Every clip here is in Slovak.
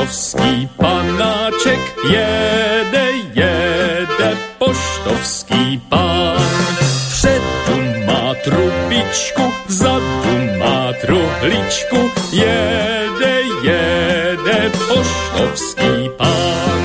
poštovský panáček, jede poštovský pán. Vpředu má trubičku, vzadu má truhličku, jede poštovský pán.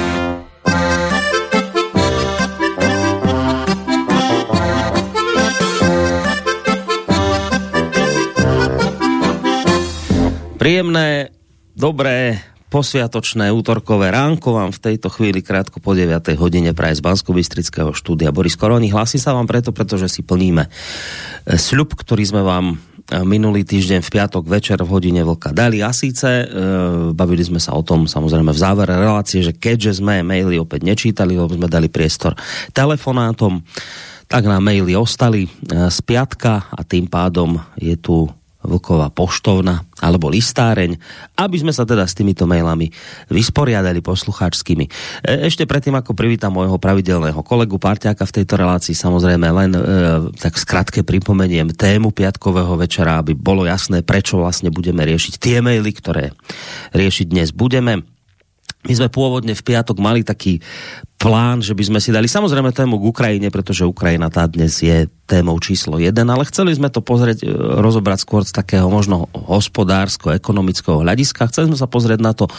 Príjemné, dobré, posviatočné útorkové ránko vám v tejto chvíli krátko po 9. hodine praje z Banskobystrického štúdia Boris Koroni. Hlási sa vám pretože si plníme sľub, ktorý sme vám minulý týždeň v piatok večer v hodine Vlka dali. A síce bavili sme sa o tom samozrejme v závere relácie, že keďže sme maily opäť nečítali, lebo sme dali priestor telefonátom, tak nám maily ostali z piatka a tým pádom je tu Vlková poštovna alebo listáreň, aby sme sa teda s týmito mailami vysporiadali poslucháčskými. Ešte predtým, ako privítam môjho pravidelného kolegu parťáka v tejto relácii, samozrejme len tak skratke pripomeniem tému piatkového večera, aby bolo jasné, prečo vlastne budeme riešiť tie maily, ktoré riešiť dnes budeme. My sme pôvodne v piatok mali taký plán, že by sme si dali samozrejme tému k Ukrajine, pretože Ukrajina tá dnes je témou číslo 1, ale chceli sme to rozobrať skôr z takého možno hospodársko-ekonomického hľadiska. Chceli sme sa pozrieť na to,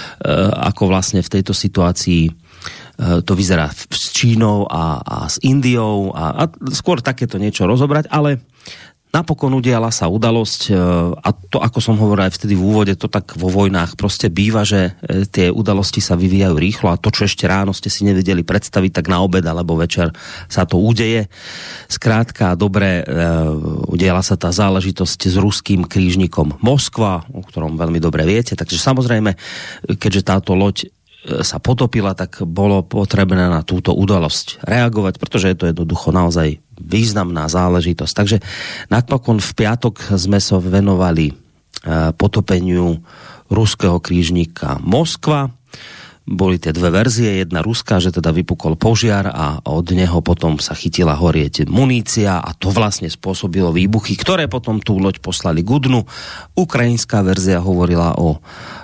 ako vlastne v tejto situácii to vyzerá s Čínou a s Indiou a skôr takéto niečo rozobrať, ale napokon udiala sa udalosť a to, ako som hovoril aj vtedy v úvode, to tak vo vojnách proste býva, že tie udalosti sa vyvíjajú rýchlo a to, čo ešte ráno ste si nevedeli predstaviť, tak na obed alebo večer sa to udeje. Skrátka, dobre, udiala sa tá záležitosť s ruským krížnikom Moskva, o ktorom veľmi dobre viete, takže samozrejme, keďže táto loď sa potopila, tak bolo potrebné na túto udalosť reagovať, pretože je to jednoducho naozaj významná záležitosť. Takže napokon v piatok sme sa venovali potopeniu ruského krížnika Moskva. Boli tie dve verzie, jedna ruská, že teda vypukol požiar a od neho potom sa chytila horieť munícia a to vlastne spôsobilo výbuchy, ktoré potom tú loď poslali k dnu. Ukrajinská verzia hovorila o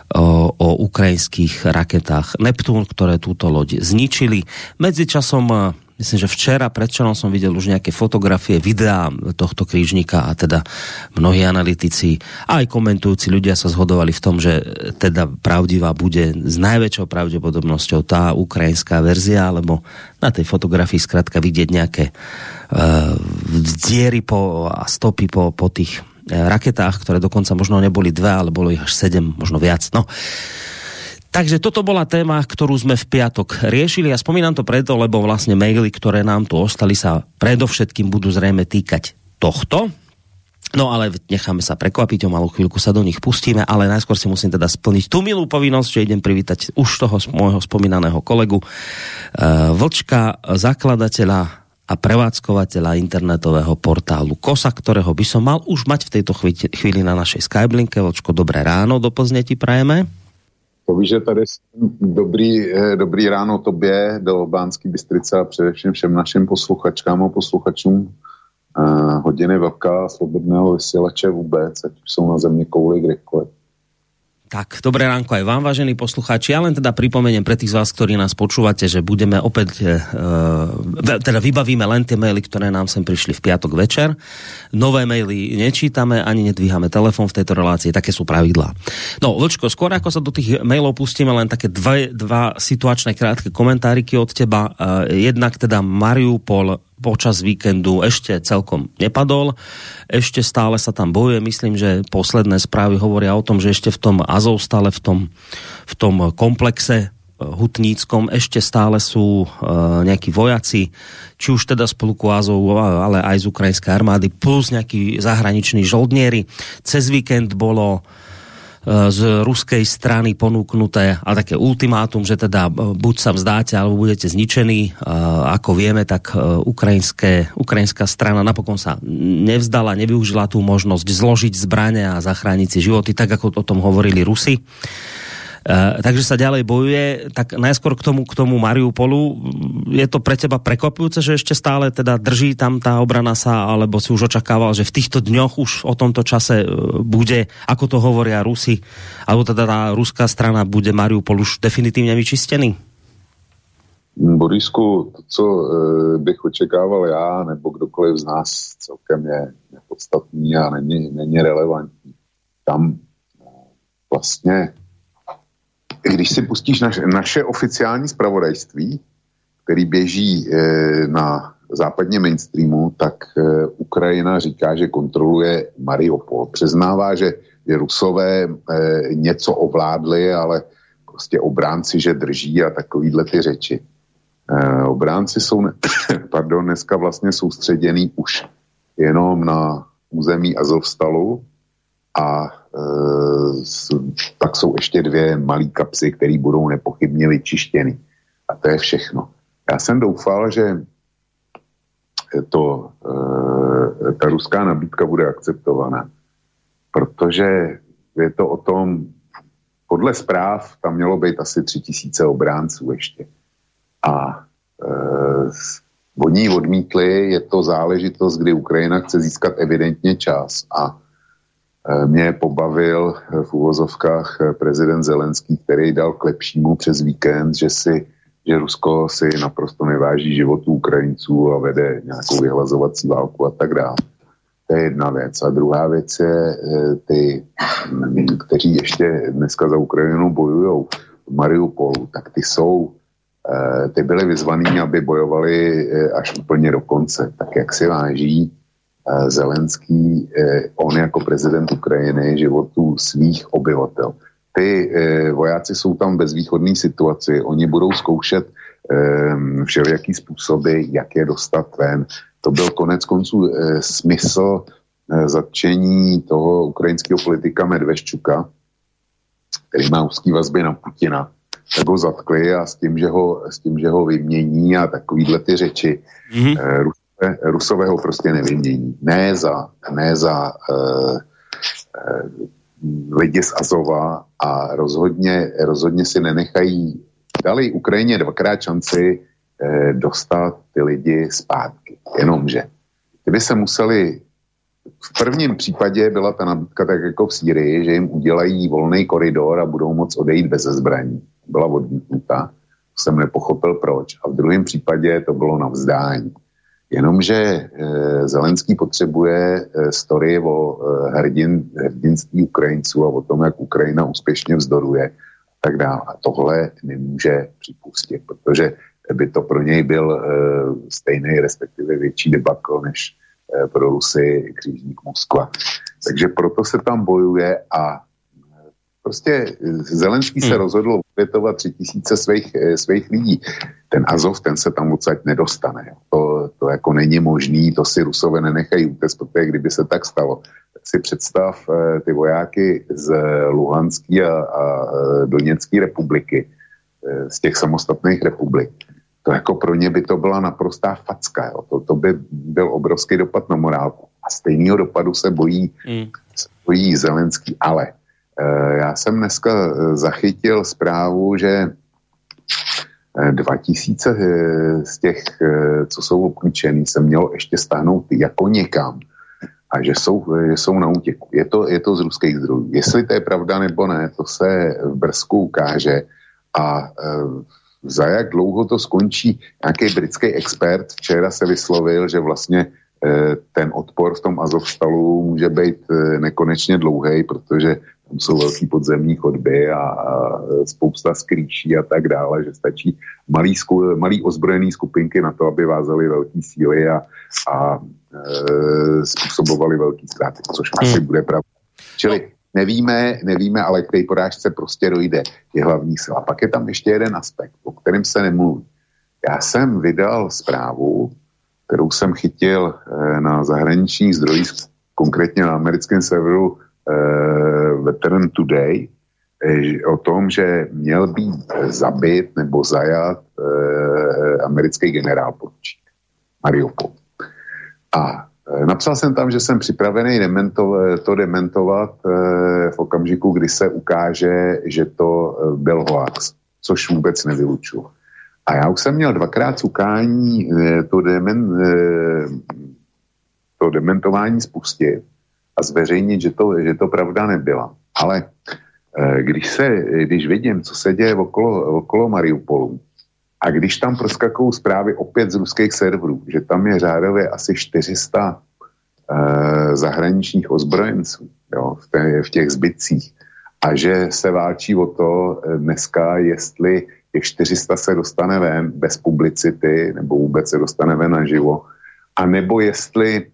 ukrajinských raketách Neptún, ktoré túto loď zničili. Medzičasom, myslím, že včera, predvčerom som videl už nejaké fotografie, videá tohto krížnika a teda mnohí analytici a aj komentujúci ľudia sa zhodovali v tom, že teda pravdivá bude s najväčšou pravdepodobnosťou tá ukrajinská verzia, lebo na tej fotografii skrátka vidieť nejaké diery a stopy po tých raketách, ktoré dokonca možno neboli 2, ale bolo ich až 7, možno viac. No. Takže toto bola téma, ktorú sme v piatok riešili a spomínam to preto, lebo vlastne maily, ktoré nám tu ostali, sa predovšetkým budú zrejme týkať tohto. No ale necháme sa prekvapiť, o malú chvíľku sa do nich pustíme, ale najskôr si musím teda splniť tú milú povinnosť, že idem privítať už toho môjho spomínaného kolegu Vlčka, zakladateľa a prevádzkovateľa internetového portálu KOSA, ktorého by som mal už mať v tejto chvíli na našej Skyblinke. Vlčko, dobré ráno, do Plzně ti prajeme. Povíš, že tady dobrý ráno tobě, do Banské Bystrice a především všem našim posluchačkám a posluchačům hodiny Vlka, slobodného vysielače vůbec, ať už jsou na země kouli kdekoliv. Tak, dobré ránko aj vám, vážení poslucháči. Ja len teda pripomeniem pre tých z vás, ktorí nás počúvate, že budeme opäť, teda vybavíme len tie maily, ktoré nám sem prišli v piatok večer. Nové maily nečítame, ani nedvíhame telefón v tejto relácii, také sú pravidlá. No, Vlčko, skôr ako sa do tých mailov pustíme, len také dva situačné krátke komentáriky od teba. Jednak teda Mariupol počas víkendu ešte celkom nepadol. Ešte stále sa tam bojuje. Myslím, že posledné správy hovoria o tom, že ešte v tom Azovstale, v tom komplexe hutníckom ešte stále sú nejakí vojaci, či už teda z pluku Azov, ale aj z ukrajinskej armády, plus nejakí zahraniční žoldnieri. Cez víkend bolo z ruskej strany ponúknuté a také ultimátum, že teda buď sa vzdáte, alebo budete zničení. Ako vieme, tak ukrajinská strana napokon sa nevzdala, nevyužila tú možnosť zložiť zbrane a zachrániť si životy, tak ako o tom hovorili Rusi. Takže sa ďalej bojuje. Tak najskôr k tomu Mariupolu. Je to pre teba prekvapujúce, že ešte stále teda drží tam tá obrana sa, alebo si už očakával, že v týchto dňoch už o tomto čase bude, ako to hovoria Rusi, alebo teda tá ruská strana, bude Mariupol už definitívne vyčistený? Borisku, to, co bych očekával já, nebo kdokoliv z nás, celkem je nepodstatný a není relevantní. Tam vlastně, když si pustíš naše oficiální zpravodajství, který běží na západně mainstreamu, tak Ukrajina říká, že kontroluje Mariupol. Přiznává, že Rusové něco ovládli, ale prostě obránci, že drží a takovýhle ty řeči. Obránci jsou dneska vlastně soustředěný už jenom na území Azovstalu a pak jsou ještě 2 malý kapsy, které budou nepochybně vyčištěny. A to je všechno. Já jsem doufal, že ta ruská nabídka bude akceptovaná, protože je to o tom, podle zpráv tam mělo být asi 3000 obránců ještě. A oni odmítli, je to záležitost, kdy Ukrajina chce získat evidentně čas a mě pobavil v uvozovkách prezident Zelenský, který dal k lepšímu přes víkend, že Rusko si naprosto neváží životů Ukrajinců a vede nějakou vyhlazovací válku a tak dále. To je jedna věc. A druhá věc je ty, kteří ještě dneska za Ukrajinu bojujou v Mariupolu, tak ty byli vyzvaný, aby bojovali až úplně do konce. Tak jak si váží Zelenský, on jako prezident Ukrajiny, životů svých obyvatel. Ty vojáci jsou tam v bezvýchodné situaci, oni budou zkoušet všelijaký způsoby, jak je dostat ven. To byl konec konců smysl zatčení toho ukrajinského politika Medveščuka, který má úzký vazby na Putina. Tak ho zatkli a s tím, že ho vymění a takovýhle ty řeči. Rusové ho prostě nevymění. Ne za lidi z Azova a rozhodně si nenechají, dali Ukrajině 2krát šanci dostat ty lidi zpátky. Jenomže kdyby se museli, v prvním případě byla ta nabídka tak jako v Sýrii, že jim udělají volný koridor a budou moct odejít bez zbraní. Byla odmítnuta, jsem nepochopil proč. A v druhém případě to bylo na vzdání. Jenomže Zelenský potřebuje story o hrdinství Ukrajinců a o tom, jak Ukrajina úspěšně vzdoruje a tak dále. A tohle nemůže připustit, protože by to pro něj byl stejný, respektive větší debakl než pro Rusy křižník Moskva. Takže proto se tam bojuje a prostě Zelenský se rozhodl obětovat 3000 svých lidí. Ten Azov, ten se tam odsaď nedostane. To jako není možný, to si Rusové nenechají útéct, protože kdyby se tak stalo, tak si představ ty vojáky z Luhanské a Doněcké republiky, z těch samostatných republik. To jako pro ně by to byla naprostá facka. Jo. To by byl obrovský dopad na morálku. A stejného dopadu se bojí Zelenský, ale já jsem dneska zachytil zprávu, že 2000 z těch, co jsou obklíčený, se mělo ještě stáhnout jako někam a že jsou na útěku. Je to z ruských zdrojů. Jestli to je pravda nebo ne, to se v Brzku ukáže a za jak dlouho to skončí. Nějaký britský expert včera se vyslovil, že vlastně ten odpor v tom Azovstalu může být nekonečně dlouhý, protože tam jsou velký podzemní chodby a spousta skrýší a tak dále, že stačí malý ozbrojený skupinky na to, aby vázali velký síly a způsobovali velký ztráty, což asi bude pravda. Čili nevíme, ale k té porážce prostě dojde, je hlavní sila. Pak je tam ještě jeden aspekt, o kterém se nemluví. Já jsem vydal zprávu, kterou jsem chytil na zahraničních zdrojích, konkrétně na americkém serveru Veteran Today, o tom, že měl být zabit nebo zajat americký generál poručík Mariupol. A Napsal jsem tam, že jsem připravený to dementovat v okamžiku, kdy se ukáže, že to byl hoax, což vůbec nevylučuju. A já už jsem měl dvakrát cukání to dementování spustit a zveřejnit, že to pravda nebyla. Ale když vidím, co se děje okolo Mariupolu, a když tam proskakují zprávy opět z ruských serverů, že tam je řádově asi 400 zahraničních ozbrojenců, jo, v těch zbytcích, a že se válčí o to dneska, jestli těch 400 se dostane ven bez publicity, nebo vůbec se dostane ven naživo, a nebo jestli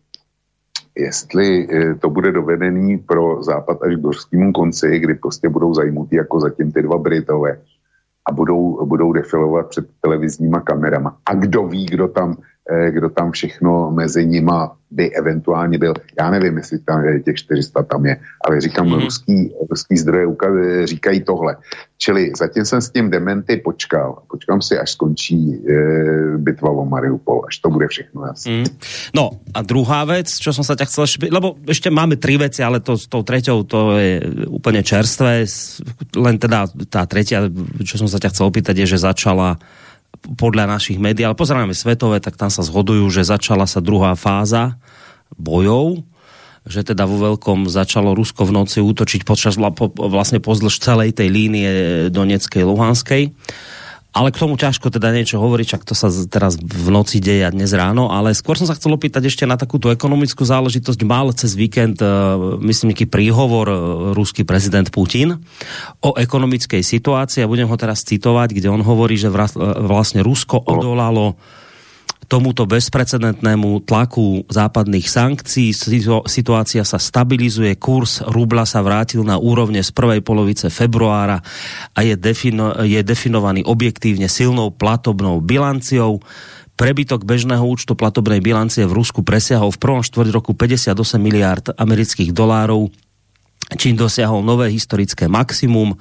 to bude dovedený pro Západ až k hořskému konci, kdy prostě budou zajmutí jako zatím ty dva Britové a budou defilovat před televizníma kamerama. A kdo ví, kdo tam všechno mezi nima by eventuálně byl. Já nevím, jestli tam těch 400 tam je, ale říkám, ruský zdroje říkají tohle. Čili zatím jsem s tím dementy počkám si, až skončí bitva o Mariupol, až to bude všechno jasné. No a druhá vec, čo som sa ťa chcel, lebo ešte máme 3 veci, ale s tou treťou to je úplne čerstvé, len teda tá tretia, čo som sa ťa chcel opýtať, je, že začala podľa našich médií, ale pozeráme svetové, tak tam sa zhodujú, že začala sa druhá fáza bojov, že teda vo veľkom začalo Rusko v noci útočiť vlastne pozdĺž celej tej línie Donetskej, Luhanskej. Ale k tomu ťažko teda niečo hovoriť, čak to sa teraz v noci deje a dnes ráno, ale skôr som sa chcel opýtať ešte na takúto ekonomickú záležitosť. Mal cez víkend, myslím, nejaký príhovor ruský prezident Putin o ekonomickej situácii a budem ho teraz citovať, kde on hovorí, že vlastne Rusko odolalo tomuto bezprecedentnému tlaku západných sankcií. Situácia sa stabilizuje, kurz rubla sa vrátil na úrovne z prvej polovice februára a je definovaný objektívne silnou platobnou bilanciou. Prebytok bežného účtu platobnej bilancie v Rusku presiahol v prvom štvrť roku 58 miliárd amerických dolárov, čím dosiahol nové historické maximum.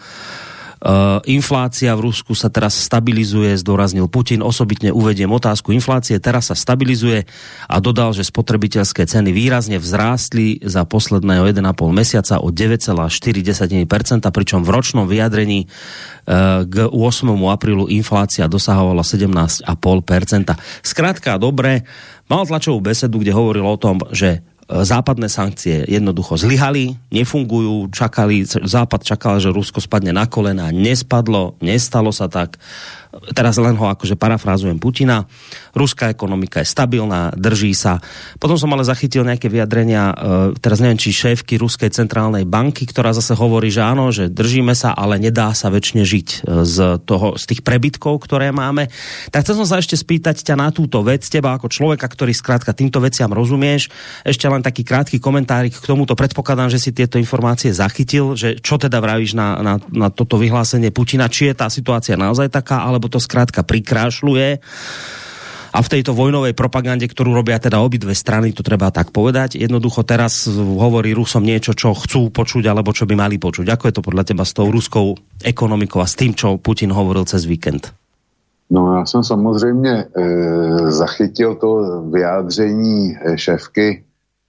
Inflácia v Rusku sa teraz stabilizuje, zdôraznil Putin. Osobitne uvediem otázku inflácie. Teraz sa stabilizuje a dodal, že spotrebiteľské ceny výrazne vzrástli za posledného 1,5 mesiaca o 9,4%, pričom v ročnom vyjadrení k 8. aprílu inflácia dosahovala 17,5%. Skrátka, dobre, mal tlačovú besedu, kde hovoril o tom, že západné sankcie jednoducho zlyhali, nefungujú, Západ čakal, že Rusko spadne na kolena, nespadlo, nestalo sa tak. Teraz len ho akože parafrázujem Putina. Ruská ekonomika je stabilná, drží sa. Potom som ale zachytil nejaké vyjadrenia, teraz neviem, či šéfky Ruskej centrálnej banky, ktorá zase hovorí, že áno, že držíme sa, ale nedá sa väčšine žiť z tých prebytkov, ktoré máme. Tak chcel som sa ešte spýtať ťa na túto vec, teba ako človeka, ktorý skrátka týmto veciam rozumieš. Ešte len taký krátky komentárik k tomuto. Predpokladám, že si tieto informácie zachytil, že čo teda vravíš na toto vyhlásenie Putina, či je tá situácia naozaj taká, alebo to skrátka prikrášľuje. A v tejto vojnovej propagande, ktorú robia teda obidve strany, to treba tak povedať, jednoducho teraz hovorí Rusom niečo, čo chcú počuť, alebo čo by mali počuť. Ako je to podľa teba s tou ruskou ekonomikou a s tým, čo Putin hovoril cez víkend? No já jsem samozřejmě zachytil to vyjádření šéfky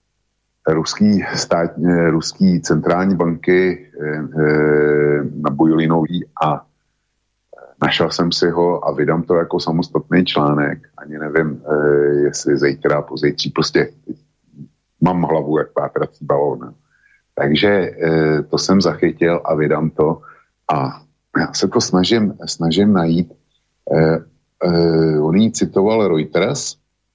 ruský centrální banky na Bujulinový a našel jsem si ho a vydám to jako samostatný článek. Ani nevím, jestli zítra, pozítří, prostě mám hlavu jak pátrací balón. Takže to jsem zachytil a vydám to a já se to snažím najít. On jí citoval Reuters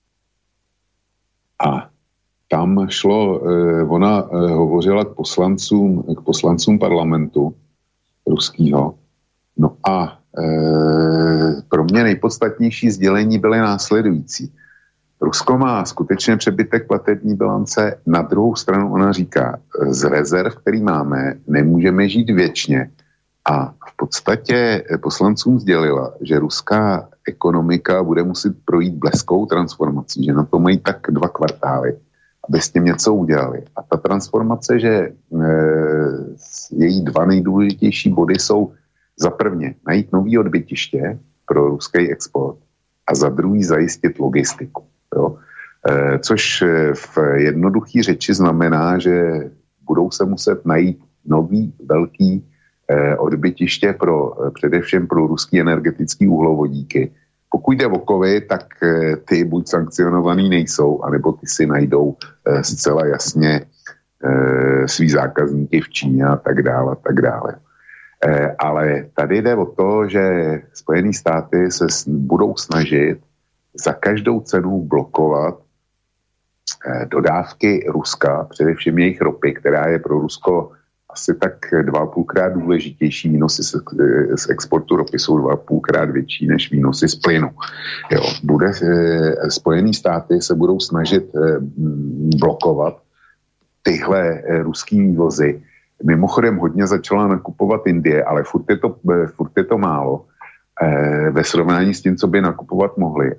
a tam šlo, ona hovořila k poslancům parlamentu ruského. No a pro mě nejpodstatnější sdělení byly následující. Rusko má skutečně přebytek platební bilance, na druhou stranu ona říká, z rezerv, který máme, nemůžeme žít věčně. A v podstatě poslancům sdělila, že ruská ekonomika bude muset projít bleskou transformací, že na to mají tak 2 kvartály, aby s tím něco udělali. A ta transformace, že její 2 nejdůležitější body jsou za prvně najít nový odbytiště pro ruský export a za druhý zajistit logistiku. Jo. Což v jednoduché řeči znamená, že budou se muset najít nový velký odbytiště především pro ruský energetický uhlovodíky. Pokud jde o kovy, tak ty buď sankcionovaný nejsou, anebo ty si najdou zcela jasně svý zákazníky v Číně a tak dále, a tak dále. Ale tady jde o to, že Spojené státy se budou snažit za každou cenu blokovat dodávky Ruska, především jejich ropy, která je pro Rusko asi tak 2,5krát důležitější. Výnosy z exportu ropy jsou 2,5krát větší než výnosy z plynu. Jo, Spojené státy se budou snažit blokovat tyhle ruský vývozy. Mimochodem hodně začala nakupovat Indie, ale furt je to málo ve srovnání s tím, co by nakupovat mohli.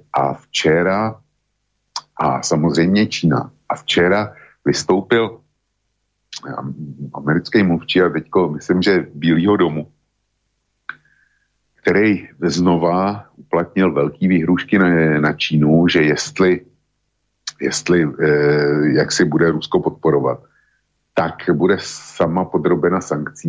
A samozřejmě Čína. A včera vystoupil americký mluvčí a teďko myslím, že Bílýho domu, který znova uplatnil velký výhrůžky na Čínu, že jestli jak si bude Rusko podporovat, tak bude sama podrobena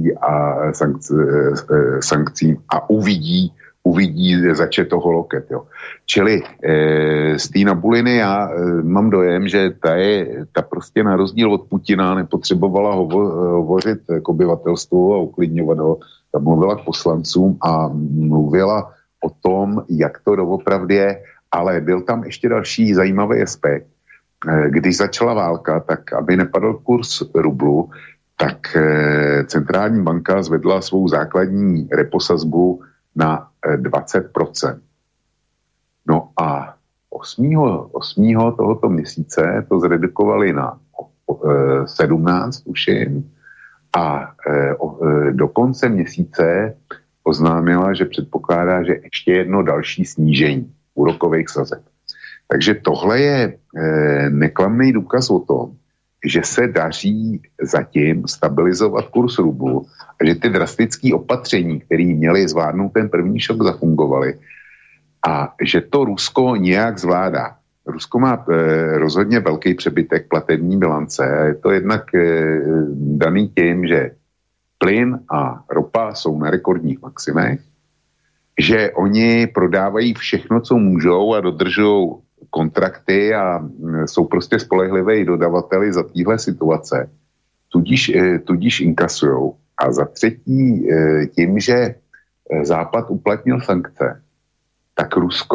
sankcím a uvidí zače toho loket. Jo. Čili z té Nabuliny já mám dojem, že ta prostě na rozdíl od Putina nepotřebovala hovořit k obyvatelstvu a uklidňovat ho. Ta mluvila k poslancům a mluvila o tom, jak to doopravdy je, ale byl tam ještě další zajímavý aspekt. Když začala válka, tak aby nepadl kurz rublu, tak centrální banka zvedla svou základní reposazbu na 20%. No a 8. tohoto měsíce to zredukovali na 17, tuším, a do konce měsíce oznámila, že předpokládá, že ještě jedno další snížení úrokových sazeb. Takže tohle je neklamný důkaz o tom, že se daří zatím stabilizovat kurz rublu a že ty drastické opatření, které měly zvládnout ten první šok, zafungovaly a že to Rusko nějak zvládá. Rusko má rozhodně velký přebytek platební bilance a je to jednak daný tím, že plyn a ropa jsou na rekordních maximech, že oni prodávají všechno, co můžou a dodržují kontrakty a jsou prostě spolehlivé dodavateli za téhle situace, tudíž inkasujou. A za třetí tím, že Západ uplatnil sankce, tak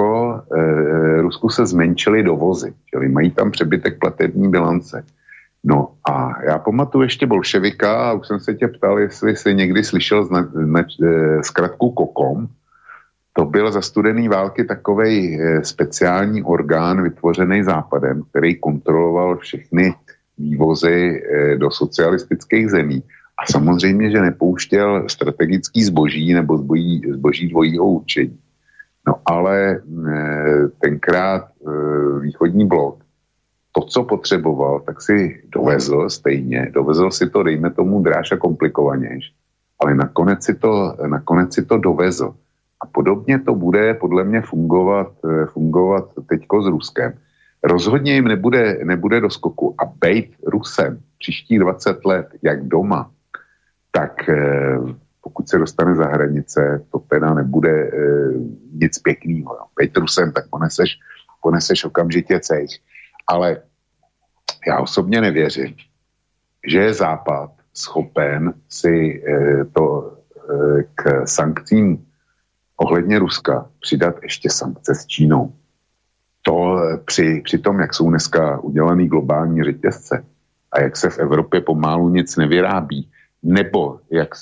Rusku se zmenšily dovozy, čili mají tam přebytek platební bilance. No a já pamatuju ještě bolševika a už jsem se tě ptal, jestli jsi někdy slyšel zkratku KOKOM. To byl za studené války takovej speciální orgán vytvořený Západem, který kontroloval všechny vývozy do socialistických zemí. A samozřejmě, že nepouštěl strategický zboží nebo zboží dvojího určení. No ale tenkrát východní blok to, co potřeboval, tak si dovezl stejně. Dovezl si to, dejme tomu, dráž a komplikovanějš. Ale nakonec si to dovezl. A podobně to bude podle mě fungovat teďko s Ruskem. Rozhodně jim nebude do skoku. A bejt Rusem příští 20 let, jak doma, tak pokud se dostane za hranice, to teda nebude nic pěknýho. Bejt Rusem, tak poneseš okamžitě cejch. Ale já osobně nevěřím, že je Západ schopen si to k sankcím ohledně Ruska přidat ještě sankce s Čínou. To při tom, jak jsou dneska udělaný globální řetězce a jak se v Evropě pomalu nic nevyrábí, nebo jak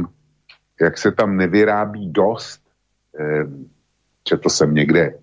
se tam nevyrábí dost, četl jsem někde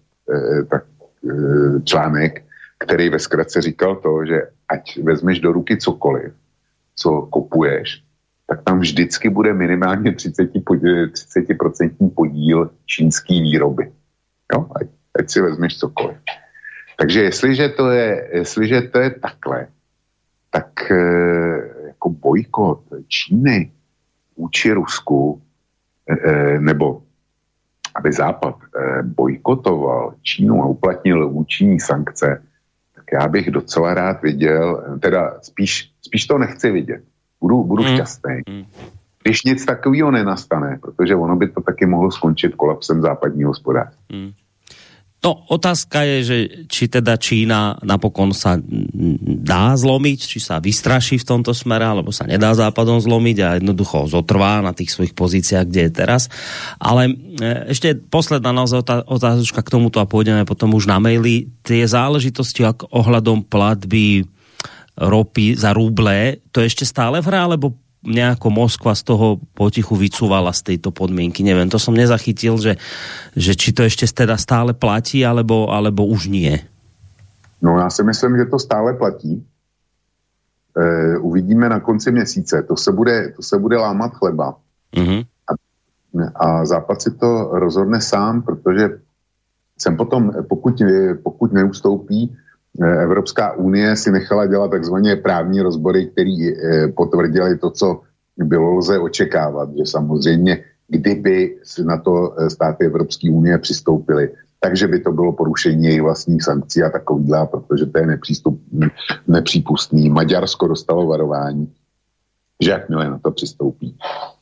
článek, který ve zkratce říkal to, že ať vezmeš do ruky cokoliv, co kupuješ, tak tam vždycky bude minimálně 30% podíl čínský výroby. Jo? Ať si vezmeš cokoliv. Takže jestliže to je takhle, tak jako bojkot Číny vůči Rusku, nebo aby Západ bojkotoval Čínu a uplatnil vůči ní sankce, tak já bych docela rád viděl, teda spíš to nechci vidět. Budu šťastný. Když nic takového nenastane, protože ono by to taky mohlo skončit kolapsem západního hospodářství. No, otázka je, že či teda Čína napokon sa dá zlomiť, či sa vystraší v tomto smere, alebo sa nedá Západom zlomiť a jednoducho zotrvá na tých svojich pozíciách, kde je teraz. Ale ešte posledná naozaj otázočka k tomuto a pôjdeme potom už na maily. Tie záležitosti ohľadom platby ropy za ruble, to je ešte stále v hre, alebo nejako Moskva z toho potichu vycúvala z tejto podmienky. Neviem, to som nezachytil, že či to ešte teda stále platí, alebo už nie. No já si myslím, že to stále platí. Uvidíme na konci měsíce. To se bude lámat chleba. Mm-hmm. A Západ si to rozhodne sám, protože sem potom, pokud neustoupí, Evropská unie si nechala dělat takzvané právní rozbory, které potvrdili to, co bylo lze očekávat, že samozřejmě, kdyby na to státy Evropské unie přistoupily, takže by to bylo porušení jejich vlastních sankcí a takovýhle, protože to je nepřípustný. Maďarsko dostalo varování, že jakmile na to přistoupí.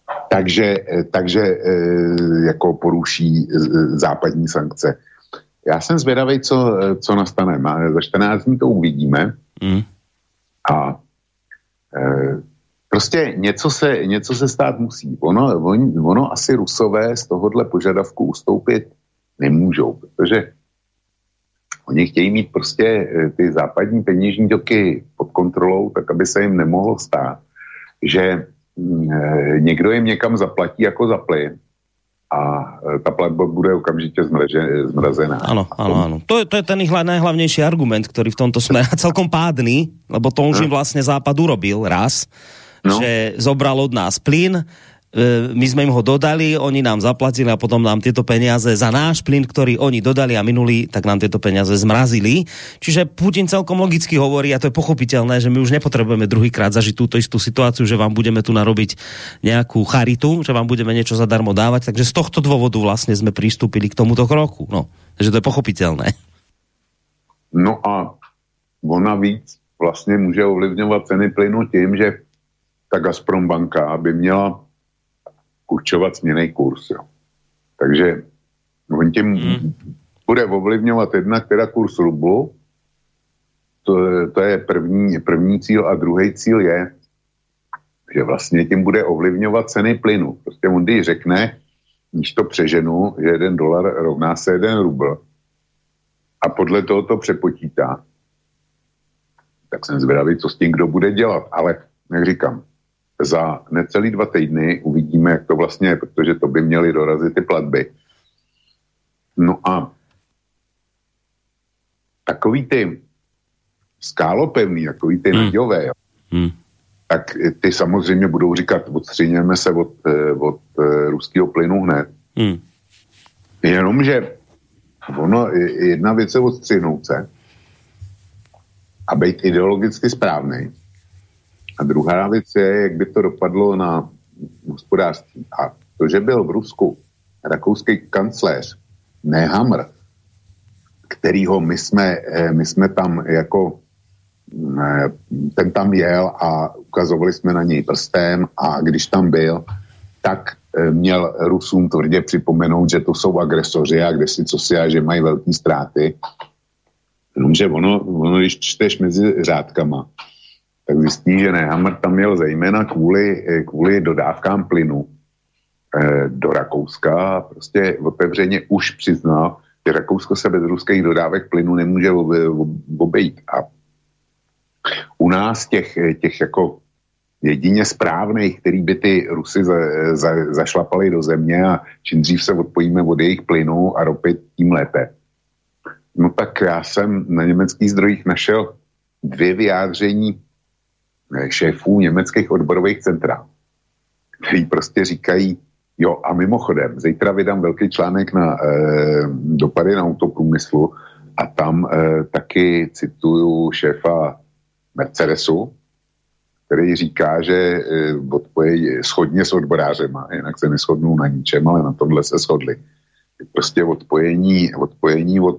Takže jako poruší západní sankce. Já jsem zvědavý, co nastane. Za 14 dní to uvidíme. A prostě něco se stát musí. Ono asi Rusové z tohohle požadavku ustoupit nemůžou, protože oni chtějí mít prostě ty západní peněžní toky pod kontrolou, tak aby se jim nemohlo stát, že někdo jim někam zaplatí jako za plyn, a tá platba bude okamžite zmrazená. Áno. To je ten ich najhlavnejší argument, ktorý v tomto smere celkom pádny, lebo to už im vlastne Západ urobil raz, že zobral od nás plyn, my sme im ho dodali, oni nám zaplatili a potom nám tieto peniaze za náš plyn, ktorý oni dodali a minuli, tak nám tieto peniaze zmrazili. Čiže Putin celkom logicky hovorí, a to je pochopiteľné, že my už nepotrebujeme druhýkrát zažiť túto istú situáciu, že vám budeme tu narobiť nejakú charitu, že vám budeme niečo zadarmo dávať, takže z tohto dôvodu vlastne sme pristúpili k tomuto kroku. No, takže to je pochopiteľné. No a ona víc vlastne môže ovlivňovať ceny plynu tým, že ta Gazprombanka by měla určovat směnný kurz. Jo. Takže on tím bude ovlivňovat jednak teda kurz rublu, to je první cíl, a druhý cíl je, že vlastně tím bude ovlivňovat ceny plynu. Prostě on když řekne, když to přeženu, že $1 rovná se 1 rubl a podle toho to přepočítá, tak jsem zvědavý, co s tím kdo bude dělat. Ale, jak říkám, za necelý 2 týdny uvidíme, jak to vlastně je, protože to by měly dorazit ty platby. No a takový ty skálopevný, takový ty naďové, tak ty samozřejmě budou říkat, odstřiňujeme se od ruského plynu hned. Jenomže jedna věc je odstřihnout se a být ideologicky správnej. A druhá věc je, jak by to dopadlo na hospodářství. A to, že byl v Rusku rakouský kancléř Nehammer, kterýho my jsme tam jako ten tam jel a ukazovali jsme na něj prstem, a když tam byl, tak měl Rusům tvrdě připomenout, že to jsou agresoři a kde si co si a že mají velké ztráty. Jenomže ono, když čteš mezi řádkama, tak zjistí, že Nehammer tam jel zejména kvůli dodávkám plynu do Rakouska. Prostě otevřeně už přiznal, že Rakousko se bez ruských dodávek plynu nemůže obejít. A u nás těch jako jedině správných, který by ty Rusy zašlapali do země, a čím dřív se odpojíme od jejich plynu a ropy, tím lépe. No tak já jsem na německých zdrojích našel 2 vyjádření šéfů německých odborových centrál, který prostě říkají, jo, a mimochodem, zítra vydám velký článek na dopady na autoprůmyslu a tam taky cituju šéfa Mercedesu, který říká, že odpojejí shodně s odborářema, jinak se neshodnou na ničem, ale na tomhle se shodli. Prostě odpojení od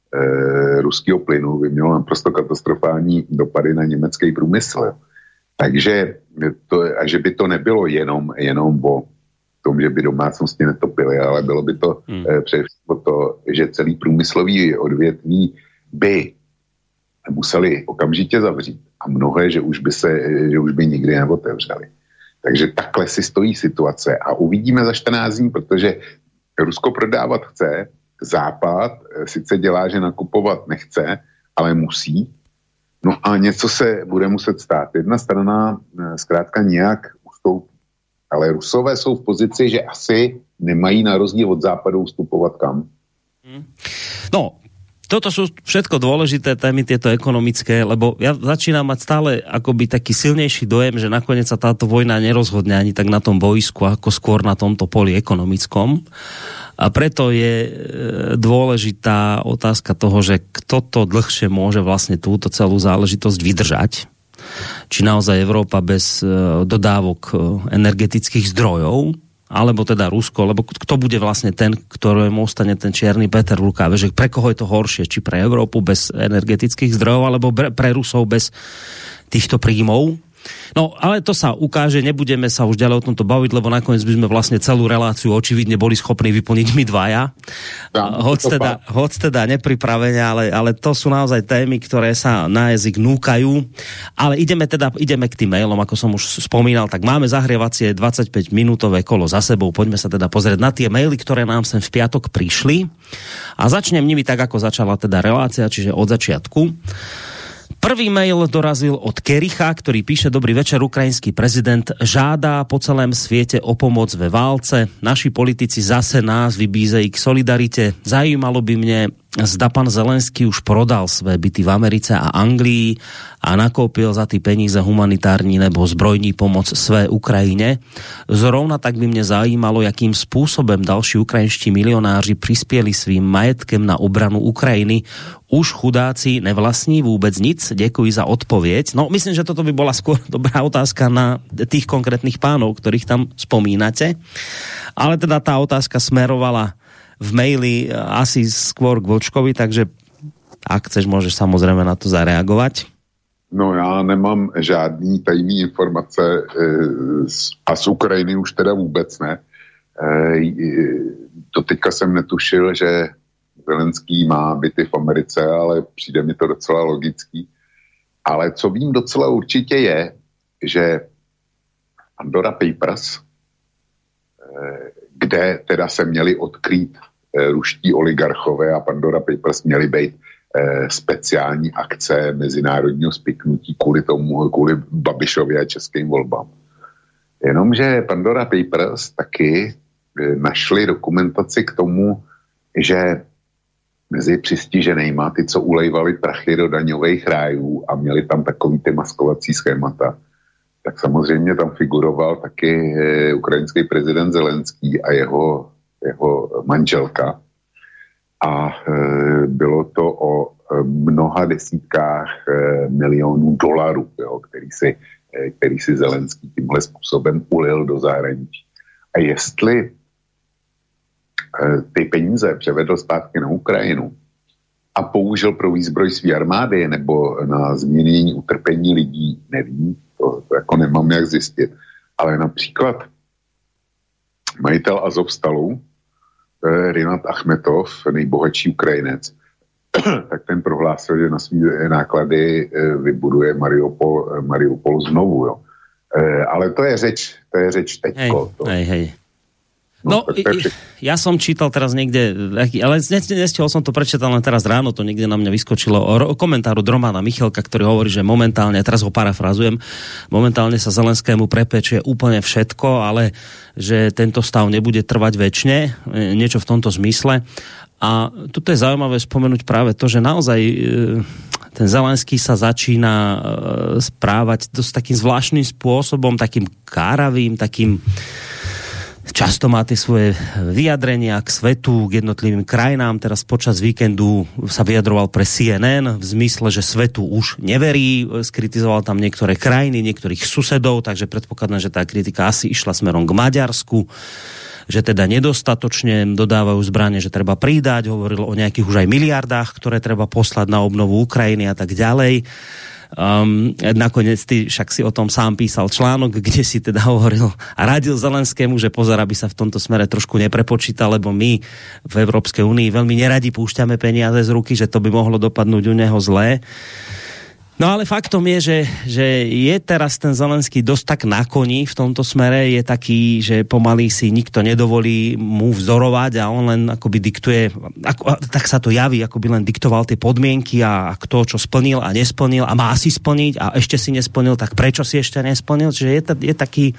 ruského plynu by mělo naprosto katastrofální dopady na německý průmysl. Takže a že by to nebylo jenom o tom, že by domácnosti netopily, ale bylo by to především to, že celý průmyslový odvětví by museli okamžitě zavřít a mnohé, že už by nikdy neotevřeli. Takže takhle si stojí situace a uvidíme za 14 dní, protože Rusko prodávat chce, Západ sice dělá, že nakupovat nechce, ale musí. No a něco se bude muset stát. Jedna strana zkrátka nějak ustoupí. Ale Rusové jsou v pozici, že asi nemají na rozdíl od Západu ustupovat kam. No, toto sú všetko dôležité témy, tieto ekonomické, lebo ja začínam mať stále akoby taký silnejší dojem, že nakoniec sa táto vojna nerozhodne ani tak na tom boisku, ako skôr na tomto poli ekonomickom. A preto je dôležitá otázka toho, že kto to dlhšie môže vlastne túto celú záležitosť vydržať. Či naozaj Európa bez dodávok energetických zdrojov, alebo teda Rusko, lebo kto bude vlastne ten, ktorému ostane ten čierny Peter v rukáve, že pre koho je to horšie, či pre Európu bez energetických zdrojov, alebo pre Rusov bez týchto príjmov. No, ale to sa ukáže, nebudeme sa už ďalej o tomto baviť, lebo nakoniec by sme vlastne celú reláciu očividne boli schopní vyplniť my dvaja. Hoď teda nepripravene, ale to sú naozaj témy, ktoré sa na jazyk núkajú. Ale ideme k tým mailom, ako som už spomínal, tak máme zahrievacie 25-minútové kolo za sebou. Poďme sa teda pozrieť na tie maily, ktoré nám sem v piatok prišli. A začnem nimi tak, ako začala teda relácia, čiže od začiatku. Prvý mail dorazil od Kericha, ktorý píše: Dobrý večer, ukrajinský prezident žádá po celém sviete o pomoc ve válce. Naši politici zase nás vybízejí k solidarite. Zajímalo by mne, zda pan Zelenský už prodal své byty v Americe a Anglii a nakúpil za ty peníze humanitární nebo zbrojní pomoc své Ukrajine. Zrovna tak by mne zajímalo, jakým spôsobom další ukrajinští milionáři prispieli svým majetkem na obranu Ukrajiny. Už chudáci nevlastní vôbec nic? Ďakujem za odpoveď. No, myslím, že toto by bola skôr dobrá otázka na tých konkrétnych pánov, ktorých tam spomínate. Ale teda tá otázka smerovala v maili asi skôr k Vlčkovi, takže ak chceš, môžeš samozrejme na to zareagovať. No, já nemám žádný tajný informace a z Ukrajiny už teda vůbec ne. Doteďka jsem netušil, že Zelenský má byty v Americe, ale přijde mi to docela logický. Ale co vím docela určitě je, že Pandora Papers, kde teda se měli odkrýt ruští oligarchové a Pandora Papers měly být speciální akce mezinárodního spiknutí kvůli Babišově a českým volbám. Jenomže Pandora Papers taky našli dokumentaci k tomu, že mezi přistiženejma, ty, co ulejvali prachy do daňových rájů a měli tam takový ty maskovací schémata, tak samozřejmě tam figuroval taky ukrajinský prezident Zelenský a jeho manželka. A bylo to o mnoha desítkách milionů dolarů, jo, který si Zelenský tímhle způsobem ulil do zahraničí. A jestli ty peníze převedl zpátky na Ukrajinu a použil pro výzbroj své armády nebo na zmírnění utrpení lidí, nevím, to jako nemám jak zjistit. Ale například majitel Azovstalu, Rinat Achmetov, nejbohatší Ukrajinec, tak ten prohlásil, že na své náklady vybuduje Mariupol znovu. Jo. Ale to je řeč teďko. Hej. No, ja som čítal teraz niekde, ale nestihol som to prečítal len teraz ráno, to niekde na mňa vyskočilo o komentáru Romana Michalka, ktorý hovorí, že momentálne, teraz ho parafrazujem, momentálne sa Zelenskému prepečie úplne všetko, ale že tento stav nebude trvať večne, niečo v tomto zmysle. A tuto je zaujímavé spomenúť práve to, že naozaj ten Zelenský sa začína správať dosť takým zvláštnym spôsobom, takým káravým, takým často má tie svoje vyjadrenia k svetu, k jednotlivým krajinám. Teraz počas víkendu sa vyjadroval pre CNN v zmysle, že svetu už neverí. Skritizoval tam niektoré krajiny, niektorých susedov, takže predpokladám, že tá kritika asi išla smerom k Maďarsku. že teda nedostatočne dodávajú zbrane, že treba pridať, hovoril o nejakých už aj miliardách, ktoré treba poslať na obnovu Ukrajiny a tak ďalej. Nakoniec ty však si o tom sám písal článok, kde si teda hovoril a radil Zelenskému, že pozor, aby sa v tomto smere trošku neprepočítal, lebo my v Európskej únii veľmi neradi púšťame peniaze z ruky, že to by mohlo dopadnúť u neho zlé. No ale faktom je, že je teraz ten Zelenský dosť tak na koni v tomto smere, je taký, že pomaly si nikto nedovolí mu vzorovať a on len akoby diktuje, tak sa to javí, akoby len diktoval tie podmienky a kto čo splnil a nesplnil a má si splniť a ešte si nesplnil, tak prečo si ešte nesplnil? Čiže je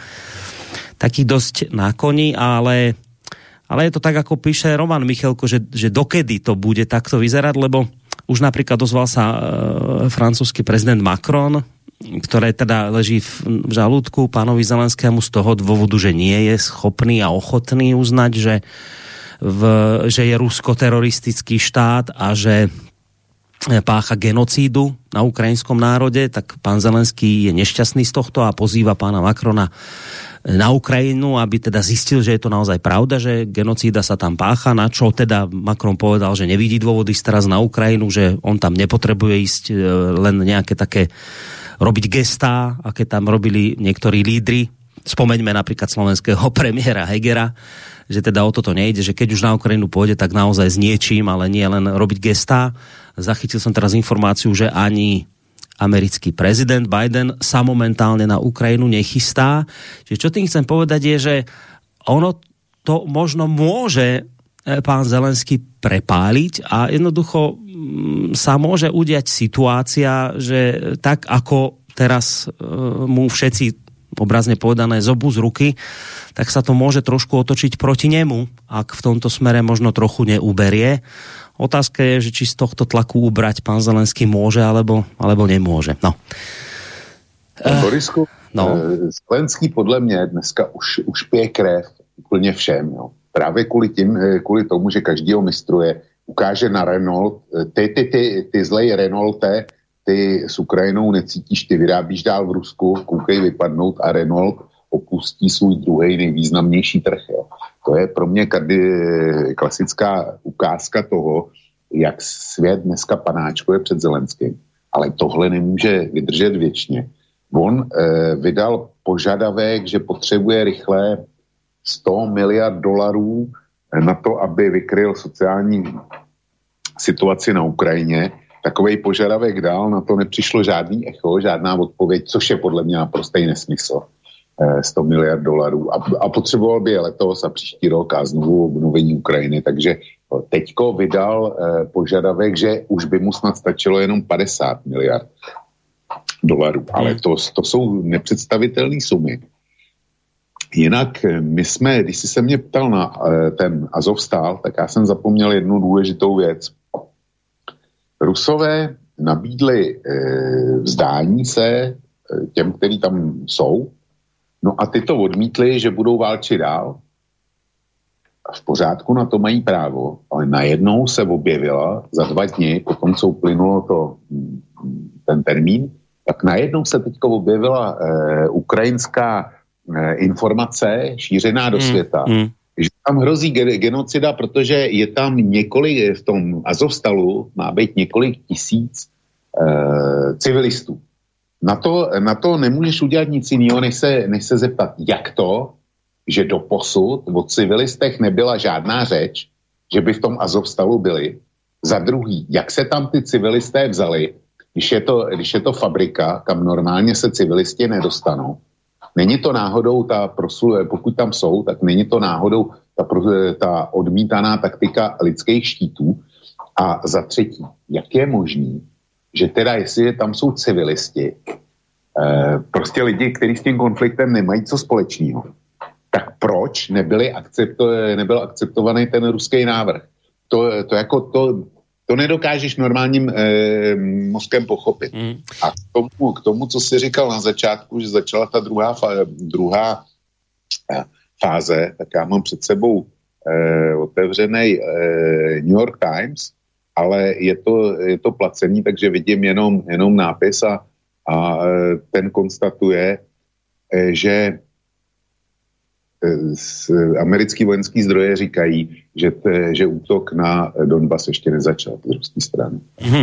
taký dosť na koni, ale je to tak, ako píše Roman Michelko, že dokedy to bude takto vyzerať, lebo už napríklad ozval sa francúzsky prezident Macron, ktoré teda leží v žalúdku pánovi Zelenskému z toho dôvodu, že nie je schopný a ochotný uznať, že je Rusko teroristický štát a že pácha genocídu na ukrajinskom národe, tak pán Zelenský je nešťastný z tohto a pozýva pána Macrona na Ukrajinu, aby teda zistil, že je to naozaj pravda, že genocída sa tam pácha, na čo teda Macron povedal, že nevidí dôvody ísť teraz na Ukrajinu, že on tam nepotrebuje ísť len nejaké také robiť gestá, aké tam robili niektorí lídri. Spomeňme napríklad slovenského premiéra Hegera, že teda o toto nejde, že keď už na Ukrajinu pôjde, tak naozaj s niečím, ale nie len robiť gestá. Zachytil som teraz informáciu, že ani americký prezident Biden sa momentálne na Ukrajinu nechystá. Čiže čo tým chcem povedať je, že ono to možno môže pán Zelenský prepáliť a jednoducho sa môže udiať situácia, že tak ako teraz mu všetci obrazne povedané zobu z ruky, tak sa to môže trošku otočiť proti nemu, ak v tomto smere možno trochu neuberie. Otázka je, že či z tohto tlaku ubrať pán Zelenský môže, alebo nemôže. No. Borisku, Zelenský podle mě dneska už pije krev úplně všem. Jo. Právě kvůli tomu, že každý ho mistruje, ukáže na Renault, ty zlej Renaulte, ty s Ukrajinou necítíš, ty vyrábíš dál v Rusku, koukej vypadnout a Renault opustí svůj druhý nejvýznamnější trh. Jo. To je pro mě klasická ukázka toho, jak svět dneska panáčkuje před Zelenským. Ale tohle nemůže vydržet věčně. On vydal požadavek, že potřebuje rychle $100 miliard na to, aby vykryl sociální situaci na Ukrajině. Takovej požadavek dal, na to nepřišlo žádný echo, žádná odpověď, což je podle mě naprostý nesmysl. $100 miliard a potřeboval by je letos a příští rok a znovu obnovení Ukrajiny, takže teďko vydal požadavek, že už by mu snad stačilo jenom $50 miliard, ale to jsou nepředstavitelné sumy. Jinak my jsme, když jsi se mě ptal na ten Azovstal, tak já jsem zapomněl jednu důležitou věc. Rusové nabídli vzdání se těm, kteří tam jsou. No a ty to odmítli, že budou válčit dál. A v pořádku, na to mají právo, ale najednou se objevila za 2 dny, potom co uplynulo ten termín, tak najednou se teďko objevila ukrajinská informace šířená do světa, že tam hrozí genocida, protože je tam několik, v tom Azovstalu má být několik tisíc civilistů. Na to nemůžeš udělat nic jiného, než se zeptat, jak to, že doposud o civilistech nebyla žádná řeč, že by v tom Azovstalu byli. Za druhý, jak se tam ty civilisté vzali, když je to fabrika, kam normálně se civilisti nedostanou. Není to náhodou pokud tam jsou, tak není to náhodou ta odmítaná taktika lidských štítů. A za třetí, jak je možný, že teda jestli tam jsou civilisti, prostě lidi, kteří s tím konfliktem nemají co společného, tak proč nebyl akceptovaný ten ruský návrh? To nedokážeš normálním mozkem pochopit. A k tomu, co jsi říkal na začátku, že začala ta druhá fáze, tak já mám před sebou otevřený New York Times, ale je to placený, takže vidím jenom nápis a ten konstatuje, že americký vojenský zdroje říkají, že útok na Donbas ještě nezačal z ruské strany.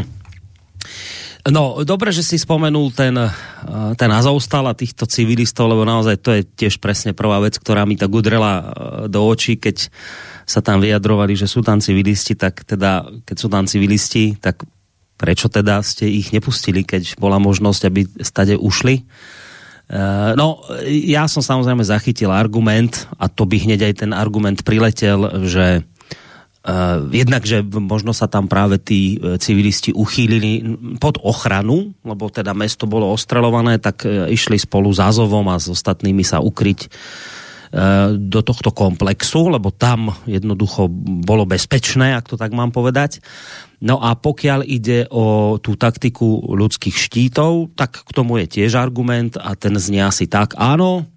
No, dobre, že si spomenul ten Azovstal a týchto civilistov, lebo naozaj to je tiež presne prvá vec, ktorá mi tak udrela do očí, keď sa tam vyjadrovali, že sú tam civilisti, tak teda, keď sú tam civilisti, tak prečo teda ste ich nepustili, keď bola možnosť, aby stade ušli? No, ja som samozrejme zachytil argument, a to by hneď aj ten argument priletel, že jednak, že možno sa tam práve tí civilisti uchýlili pod ochranu, lebo teda mesto bolo ostreľované, tak išli spolu s Azovom a s ostatnými sa ukryť do tohto komplexu, lebo tam jednoducho bolo bezpečné, ak to tak mám povedať. No a pokiaľ ide o tú taktiku ľudských štítov, tak k tomu je tiež argument a ten znie asi tak, áno,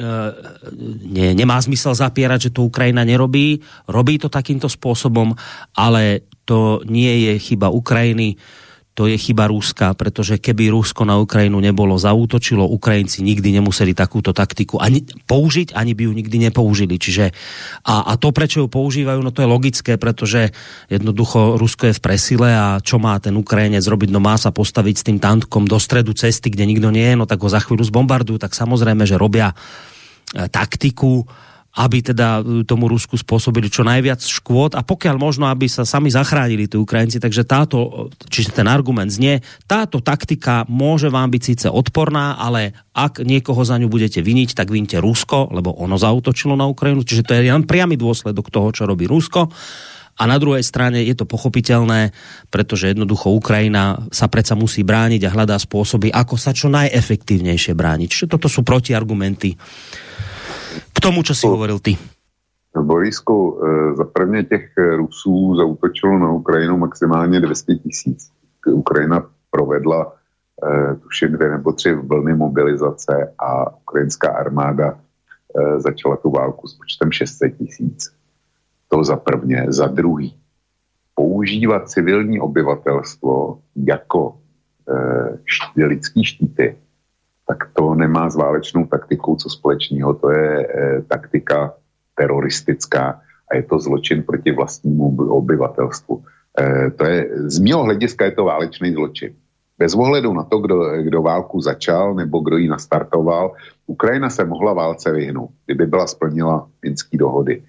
nemá zmysel zapierať, že to Ukrajina nerobí, robí to takýmto spôsobom, ale to nie je chyba Ukrajiny, to je chyba Ruska, pretože keby Rusko na Ukrajinu nebolo zaútočilo, Ukrajinci nikdy nemuseli takúto taktiku ani použiť, ani by ju nikdy nepoužili. Čiže a to, prečo ju používajú, no to je logické, pretože jednoducho Rusko je v presile a čo má ten Ukrajinec robiť? No má sa postaviť s tým tankom do stredu cesty, kde nikto nie je, no tak ho za chvíľu zbombardujú, tak samozrejme, že robia taktiku, aby teda tomu Rusku spôsobili čo najviac škôd a pokiaľ možno, aby sa sami zachránili tí Ukrajinci. Takže čiže ten argument znie, táto taktika môže vám byť síce odporná, ale ak niekoho za ňu budete viniť, tak vínte Rusko, lebo ono zaútočilo na Ukrajinu. Čiže to je len priamy dôsledok toho, čo robí Rusko. A na druhej strane je to pochopiteľné, pretože jednoducho Ukrajina sa predsa musí brániť a hľadá spôsoby, ako sa čo najefektívnejšie brániť. Čiže toto sú protiargumenty k tomu, čo si hovoril ty. Borisku, za prvně těch Rusů zaútočilo na Ukrajinu maximálně 200 000. Ukrajina provedla tuším 2 nebo 3 vlny mobilizace a ukrajinská armáda začala tu válku s počtem 600 000. To za prvně. Za druhý, používat civilní obyvatelstvo jako lidský štíty, tak to nemá s válečnou taktikou co společného. To je taktika teroristická a je to zločin proti vlastnímu obyvatelstvu. Z mého hlediska je to válečný zločin. Bez ohledu na to, kdo válku začal nebo kdo ji nastartoval, Ukrajina se mohla válce vyhnout, kdyby byla splnila minské dohody.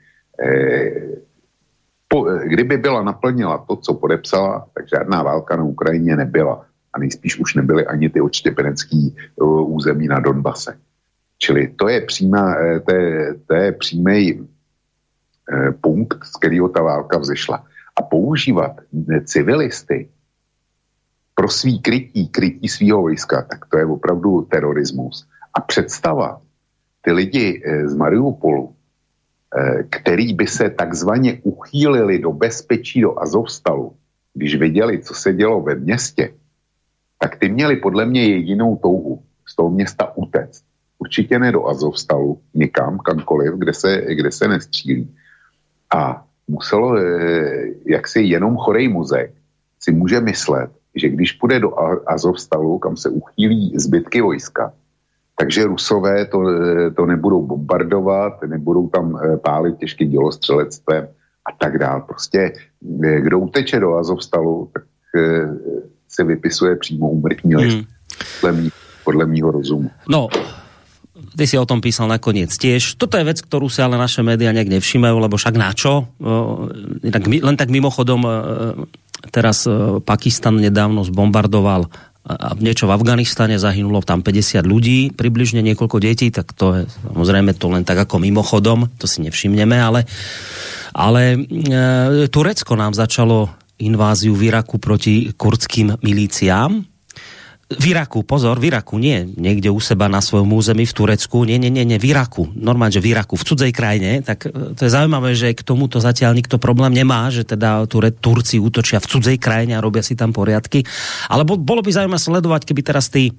Kdyby byla naplnila to, co podepsala, tak žádná válka na Ukrajině nebyla. A nejspíš už nebyly ani ty odštěpenecký území na Donbase. Čili to je přímý punkt, z kterého ta válka vzešla. A používat civilisty pro svý krytí svýho vojska, tak to je opravdu terorismus. A představa ty lidi z Mariupolu, který by se takzvaně uchýlili do bezpečí do Azovstalu, když viděli, co se dělo ve městě, tak ty měli podle mě jedinou touhu z toho města utéct. Určitě ne do Azovstalu, někam, kamkoliv, kde se nestřílí. A muselo, jaksi jenom chorej mozek si může myslet, že když půjde do Azovstalu, kam se uchýlí zbytky vojska, takže Rusové to nebudou bombardovat, nebudou tam pálit těžkým dělostřelectvem a tak dál. Prostě kdo uteče do Azovstalu, tak se vypisuje přímo úmrtní list. Podle mýho rozumu. No, ty si o tom písal nakoniec tiež. Toto je vec, ktorú si ale naše médiá nejak nevšimajú, lebo však na čo? Len tak mimochodom, teraz Pakistan nedávno zbombardoval niečo v Afganistane, zahynulo tam 50 ľudí, približne niekoľko detí, tak to je samozrejme to len tak ako mimochodom, to si nevšimneme, ale Turecko nám začalo inváziu v Iraku proti kurdským milíciám. V Iraku, pozor, v Iraku, nie niekde u seba na svojom území v Turecku, nie, v Iraku, normálne, že v Iraku, v cudzej krajine, tak to je zaujímavé, že k tomuto zatiaľ nikto problém nemá, že teda Turci útočia v cudzej krajine a robia si tam poriadky, ale bolo by zaujímavé sledovať, keby teraz tí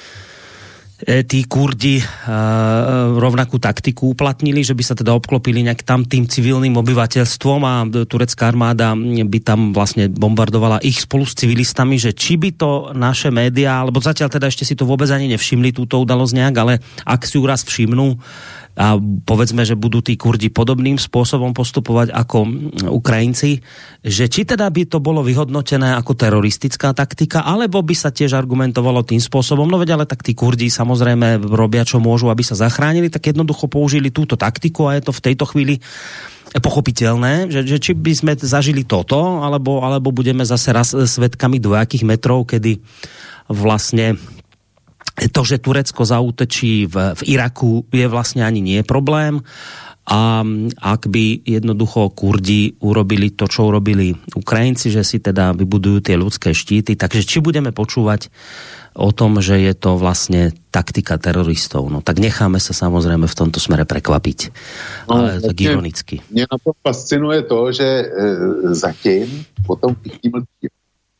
Kurdi rovnakú taktiku uplatnili, že by sa teda obklopili nejak tam tým civilným obyvateľstvom a turecká armáda by tam vlastne bombardovala ich spolu s civilistami, že či by to naše médiá, alebo zatiaľ teda ešte si to vôbec ani nevšimli túto udalosť nejak, ale ak si ju raz všimnú, a povedzme, že budú tí Kurdi podobným spôsobom postupovať ako Ukrajinci, že či teda by to bolo vyhodnotené ako teroristická taktika, alebo by sa tiež argumentovalo tým spôsobom, no veď ale tak tí Kurdi samozrejme robia čo môžu, aby sa zachránili, tak jednoducho použili túto taktiku a je to v tejto chvíli pochopiteľné, že či by sme zažili toto, alebo budeme zase raz svedkami dvojakých metrov, kedy vlastne to, že Turecko zaútočí v Iraku, je vlastne ani nie problém. A ak by jednoducho Kurdi urobili to, čo urobili Ukrajinci, že si teda vybudujú tie ľudské štíty, takže či budeme počúvať o tom, že je to vlastne taktika teroristov, no tak necháme sa samozrejme v tomto smere prekvapiť. Ale tak ironicky. Mňa na to fascinuje to, že zatím potom všichni.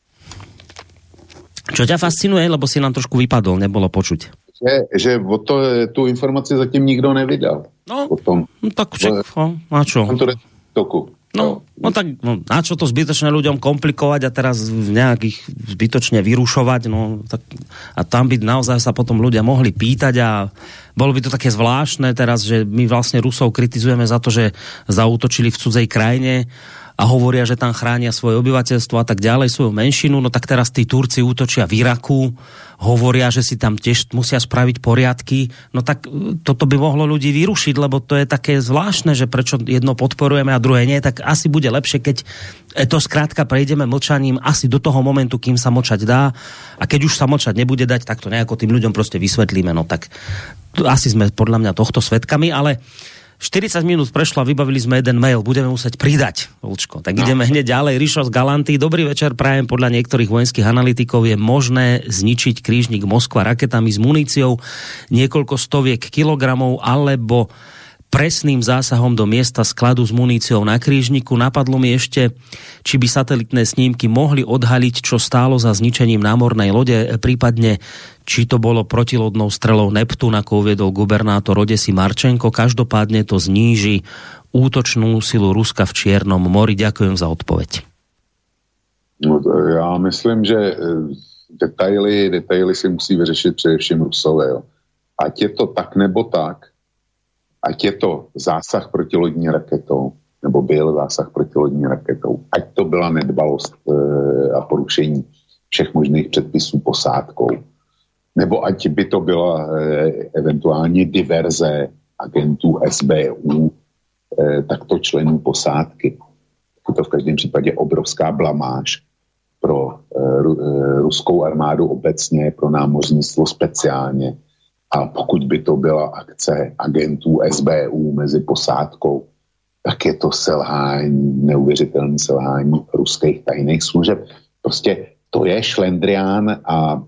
Čo ťa fascinuje, lebo si nám trošku vypadol, nebolo počuť. Že tú informaci zatím nikto nevydal. No tak na čo? No tak na čo to zbytočne ľuďom komplikovať a teraz nejakých zbytočne vyrušovať, no tak a tam by naozaj sa potom ľudia mohli pýtať a bolo by to také zvláštne teraz, že my vlastne Rusov kritizujeme za to, že zaútočili v cudzej krajine a hovoria, že tam chránia svoje obyvateľstvo a tak ďalej, svoju menšinu, no tak teraz tí Turci útočia v Iraku, hovoria, že si tam tiež musia spraviť poriadky, no tak toto by mohlo ľudí vyrušiť, lebo to je také zvláštne, že prečo jedno podporujeme a druhé nie, tak asi bude lepšie, keď to skrátka prejdeme mlčaním asi do toho momentu, kým sa mlčať dá, a keď už sa mlčať nebude dať, tak to nejako tým ľuďom proste vysvetlíme, no tak asi sme podľa mňa tohto svedkami, ale 40 minút prešlo a vybavili sme jeden mail. Budeme musieť pridať, Vlčko. Tak ideme hneď ďalej. Rišo z Galanty. Dobrý večer, prajem. Podľa niektorých vojenských analytikov je možné zničiť krížnik Moskva raketami s muníciou niekoľko stoviek kilogramov alebo presným zásahom do miesta skladu s muníciou na krížniku. Napadlo mi ešte, či by satelitné snímky mohli odhaliť, čo stálo za zničením námornej lode, prípadne či to bolo protilodnou strelou Neptún, ako uviedol gubernátor Odesy Marčenko. Každopádne to zníži útočnú silu Ruska v Čiernom mori. Ďakujem za odpoveď. No, já myslím, že detaily si musí vyřešit především Rusové. Jo. Ať je to tak nebo tak, ať je to zásah protilodní raketou, nebo byl zásah protilodní raketou, ať to byla nedbalost a porušení všech možných předpisů posádkou, nebo ať by to byla eventuálně diverze agentů SBU, takto členů posádky. Je to v každém případě obrovská blamáž pro ruskou armádu obecně, pro námořnictvo speciálně. A pokud by to byla akce agentů SBU mezi posádkou, tak je to selhání, neuvěřitelné selhání ruských tajných služeb. Prostě to je šlendrián a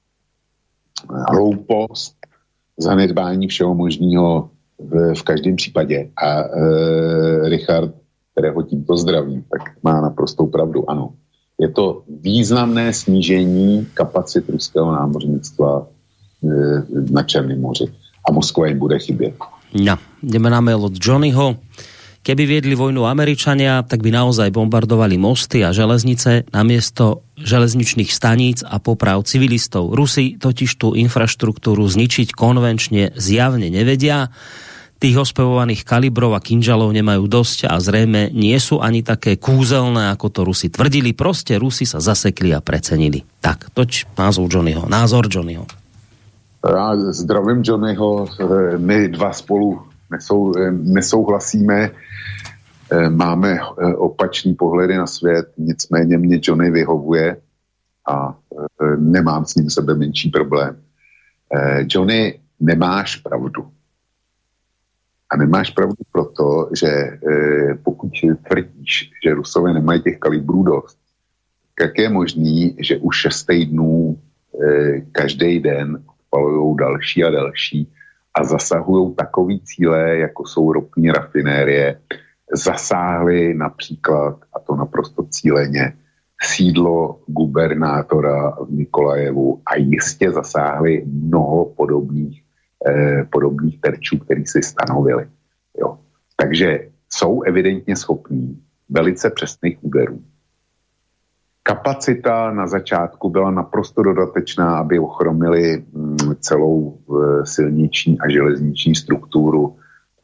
hloupost, zanedbání všeho možného v každém případě. A Richard, kterého tímto zdravím, tak má naprostou pravdu. Ano, je to významné snížení kapacit ruského námořnictva na Černém moři. A Moskva im bude chybieť. No, ideme na mail od Johnnyho. Keby viedli vojnu Američania, tak by naozaj bombardovali mosty a železnice namiesto železničných staníc a poprav civilistov. Rusi totiž tú infraštruktúru zničiť konvenčne zjavne nevedia. Tých ospevovaných kalibrov a kinžalov nemajú dosť a zrejme nie sú ani také kúzelné, ako to Rusi tvrdili. Proste Rusi sa zasekli a precenili. Tak, toť názor Johnnyho. Já zdravím Johnnyho, my dva spolu nesouhlasíme, máme opačný pohledy na svět, nicméně mě Johnny vyhovuje a nemám s ním sebe menší problém. Johnny, nemáš pravdu. A nemáš pravdu proto, že pokud tvrdíš, že Rusové nemají těch kalibrů dost, jak je možný, že už 6 týdnů každý den odpalujou další a další a zasahujou takový cíle, jako jsou ropní rafinérie, zasáhly například, a to naprosto cíleně, sídlo gubernátora v Nikolajevu a jistě zasáhly mnoho podobných terčů, který si stanovili. Jo. Takže jsou evidentně schopní velice přesných úderů. Kapacita na začátku byla naprosto dodatečná, aby ochromili celou silniční a železniční strukturu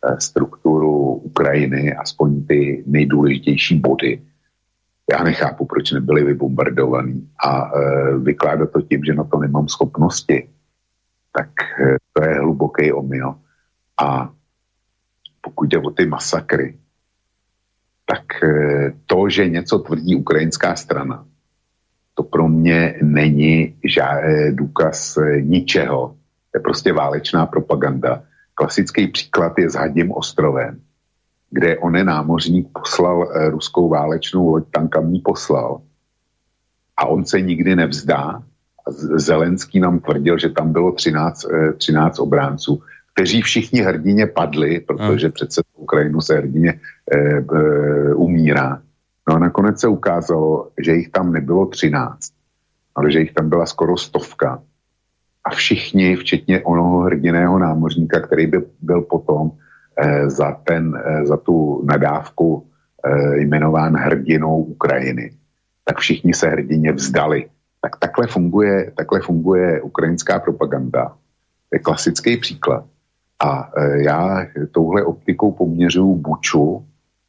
strukturu Ukrajiny, aspoň ty nejdůležitější body. Já nechápu, proč nebyly vybombardovaný a vykládat to tím, že na to nemám schopnosti, tak to je hluboký omyl. A pokud jde o ty masakry, tak to, že něco tvrdí ukrajinská strana, to pro mě není důkaz ničeho. To je prostě válečná propaganda. Klasický příklad je s Hadím ostrovem, kde onen námořník poslal ruskou válečnou loď, tankami poslal. A on se nikdy nevzdá. Zelenský nám tvrdil, že tam bylo 13 obránců, kteří všichni hrdině padli, protože přece Ukrajinu se hrdině umírá. No a nakonec se ukázalo, že jich tam nebylo 13, ale že jich tam byla skoro 100. A všichni, včetně onoho hrdiného námořníka, který by byl potom za tu nadávku jmenován hrdinou Ukrajiny, tak všichni se hrdině vzdali. Tak takhle funguje ukrajinská propaganda. To je klasický příklad. A já touhle optikou poměřuju Buču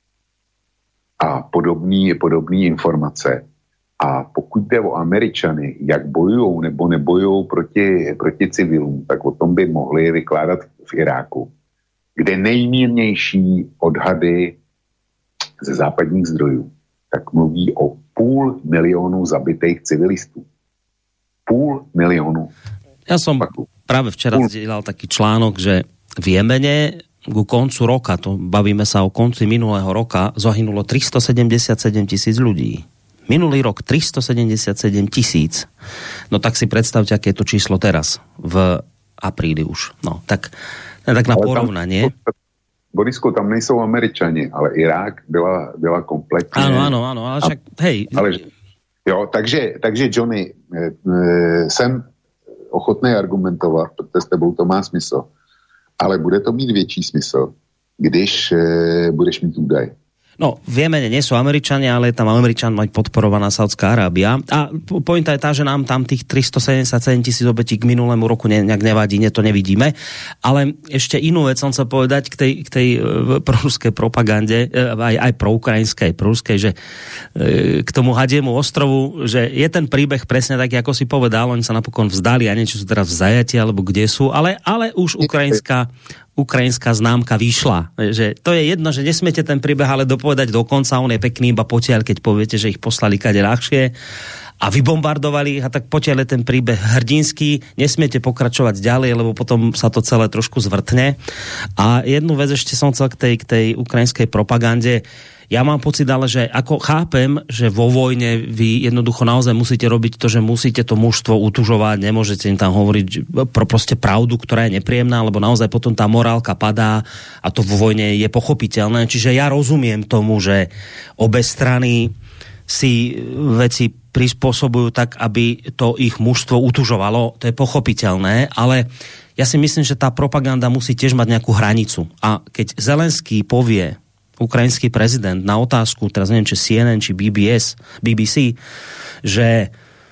a podobné informace. A pokud jde o Američany, jak bojujou nebo nebojujou proti civilům, tak o tom by mohli vykládat v Iráku, kde nejmírnější odhady ze západních zdrojů tak mluví o 500 000 zabitých civilistů. 500 000. Ja som práve včera zdieľal taký článok, že v Jemene ku koncu roka, to bavíme sa o konci minulého roka, zahynulo 377 000 ľudí. Minulý rok 377 000. No tak si predstavte, aké je to číslo teraz, v apríli už. No, tak na porovnanie. Borisku, tam nejsou Američani, ale Irák byla kompletně... Áno, ale však, hej... Jo, takže Johnny, jsem ochotný argumentovat, protože s tebou to má smysl, ale bude to mít větší smysl, když budeš mít údaj. No, v Jemene nie sú Američania, ale tam Američanmi podporovaná Saudská Arábia. A pointa je tá, že nám tam tých 377 000 obetí k minulému roku nejak nevadí, to nevidíme. Ale ešte inú vec som chcel povedať k tej proruskej propagande, aj proukrajinskej, proruskej, že k tomu Hadiemu ostrovu, že je ten príbeh presne taký, ako si povedal, oni sa napokon vzdali, a niečo sú teraz v zajati, alebo kde sú, ale už ukrajinská známka vyšla. Že to je jedno, že nesmiete ten príbeh ale dopovedať do konca, on je pekný iba potiaľ, keď poviete, že ich poslali kade ľahšie a vybombardovali ich, a tak potiaľ je ten príbeh hrdinský, nesmiete pokračovať ďalej, lebo potom sa to celé trošku zvrtne. A jednu vec ešte som chcel k tej ukrajinskej propagande. Ja mám pocit, ale že ako chápem, že vo vojne vy jednoducho naozaj musíte robiť to, že musíte to mužstvo utužovať, nemôžete im tam hovoriť proste pravdu, ktorá je nepríjemná, lebo naozaj potom tá morálka padá a to vo vojne je pochopiteľné. Čiže ja rozumiem tomu, že obe strany si veci prispôsobujú tak, aby to ich mužstvo utužovalo. To je pochopiteľné, ale ja si myslím, že tá propaganda musí tiež mať nejakú hranicu. A keď Zelenský povie, ukrajinský prezident, na otázku, teraz neviem, či CNN, či BBC, že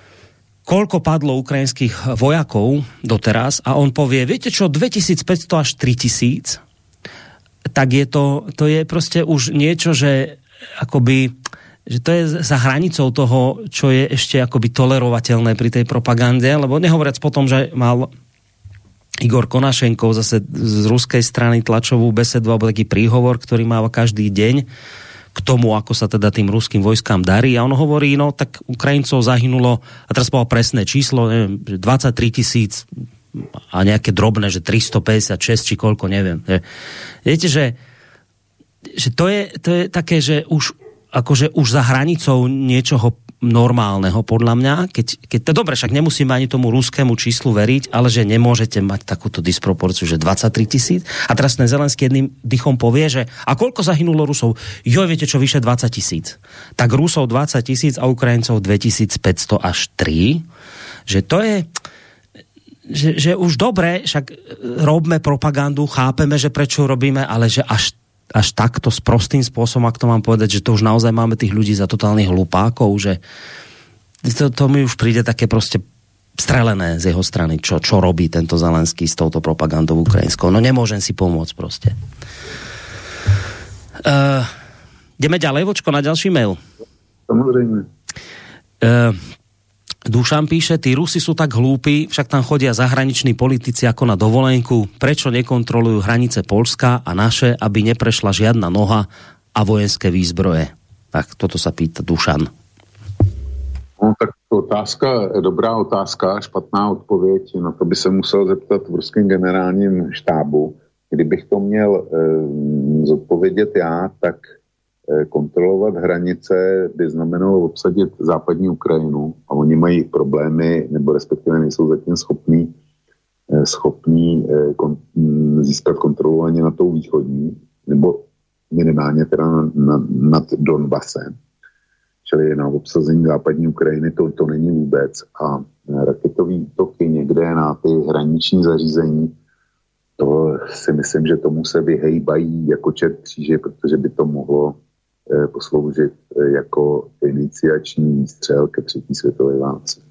koľko padlo ukrajinských vojakov doteraz, a on povie, viete čo, 2500 až 3000, tak to je proste už niečo, že akoby, že to je za hranicou toho, čo je ešte akoby tolerovateľné pri tej propagande, lebo nehovoriac potom, že mal Igor Konašenkov zase z ruskej strany tlačovú besedu alebo taký príhovor, ktorý má každý deň k tomu, ako sa teda tým ruským vojskám darí. A on hovorí, no tak Ukrajincov zahynulo, a teraz povedal presné číslo, neviem, 23 000 a nejaké drobné, že 356 či koľko, neviem. Viete, že to je také, že už akože už za hranicou niečoho normálneho, podľa mňa, keď to dobre, však nemusíme ani tomu ruskému číslu veriť, ale že nemôžete mať takúto disproporciu, že 23 000. A teraz ten Zelenský jedným dychom povie, že a koľko zahynulo Rusov? Jo, viete čo, vyše 20 000. Tak Rusov 20 000 a Ukrajincov 2500 až 3. Že to je... Že už dobre, však robíme propagandu, chápeme, že prečo robíme, ale že až takto s prostým spôsobom, ak to mám povedať, že to už naozaj máme tých ľudí za totálnych hlupákov, že to mi už príde také proste strelené z jeho strany, čo robí tento Zelenský s touto propagandou ukrajinskou. No nemôžem si pomôcť proste. Ideme ďalej, Vočko, na ďalší mail. Samozrejme. Dušan píše, tí Rusi sú tak hlúpi, však tam chodia zahraniční politici ako na dovolenku. Prečo nekontrolujú hranice Poľska a naše, aby neprešla žiadna noha a vojenské výzbroje? Tak toto sa pýta Dušan. No tak otázka, dobrá otázka, špatná odpověď. Na to by se musel zeptat v ruském generálním štábu. Kdybych to měl zodpovědět já, tak kontrolovat hranice by znamenalo obsadit západní Ukrajinu a oni mají problémy, nebo respektive nejsou zatím schopní získat kontrolu ani na tou východní, nebo minimálně teda nad Donbasem. Čili na obsazení západní Ukrajiny to není vůbec. A raketový útoky někde na ty hraniční zařízení, to si myslím, že tomu se vyhejbají jako čert kříže, protože by to mohlo posloužit jako iniciační střel ke třetí světové válce.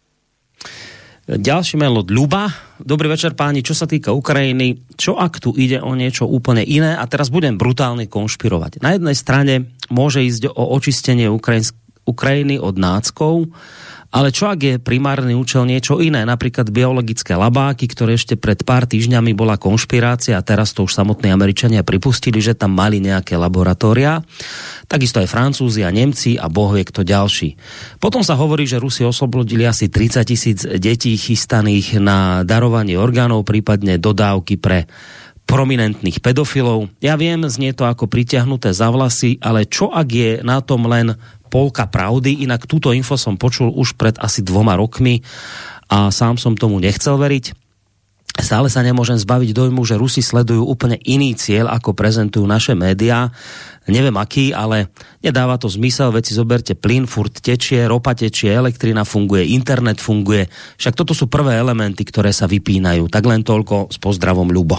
Ďalší mail od Ľuba. Dobrý večer páni, čo sa týka Ukrajiny, čo ak tu ide o niečo úplne iné a teraz budem brutálne konšpirovať. Na jednej strane môže ísť o očistenie Ukrajiny od náckov, ale čo ak je primárny účel niečo iné, napríklad biologické labáky, ktoré ešte pred pár týždňami bola konšpirácia a teraz to už samotní Američania pripustili, že tam mali nejaké laboratória. Takisto aj Francúzi a Nemci a boh vie kto ďalší. Potom sa hovorí, že Rusi oslobodili asi 30 000 detí chystaných na darovanie orgánov, prípadne dodávky pre prominentných pedofilov. Ja viem, znie to ako pritiahnuté za vlasy, ale čo ak je na tom len polka pravdy? Inak túto info som počul už pred asi 2 rokmi a sám som tomu nechcel veriť. Stále sa nemôžem zbaviť dojmu, že Rusi sledujú úplne iný cieľ, ako prezentujú naše médiá. Neviem aký, ale nedáva to zmysel, veď si zoberte plyn, furt tečie, ropa tečie, elektrina funguje, internet funguje. Však toto sú prvé elementy, ktoré sa vypínajú. Tak len toľko s pozdravom, Ľubo.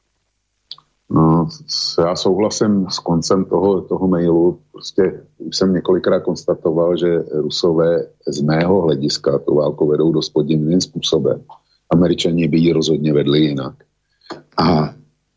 No, já souhlasím s koncem toho mailu. Prostě už jsem několikrát konstatoval, že Rusové z mého hlediska tu válku vedou dost podivným způsobem. Američani by ji rozhodně vedli jinak. A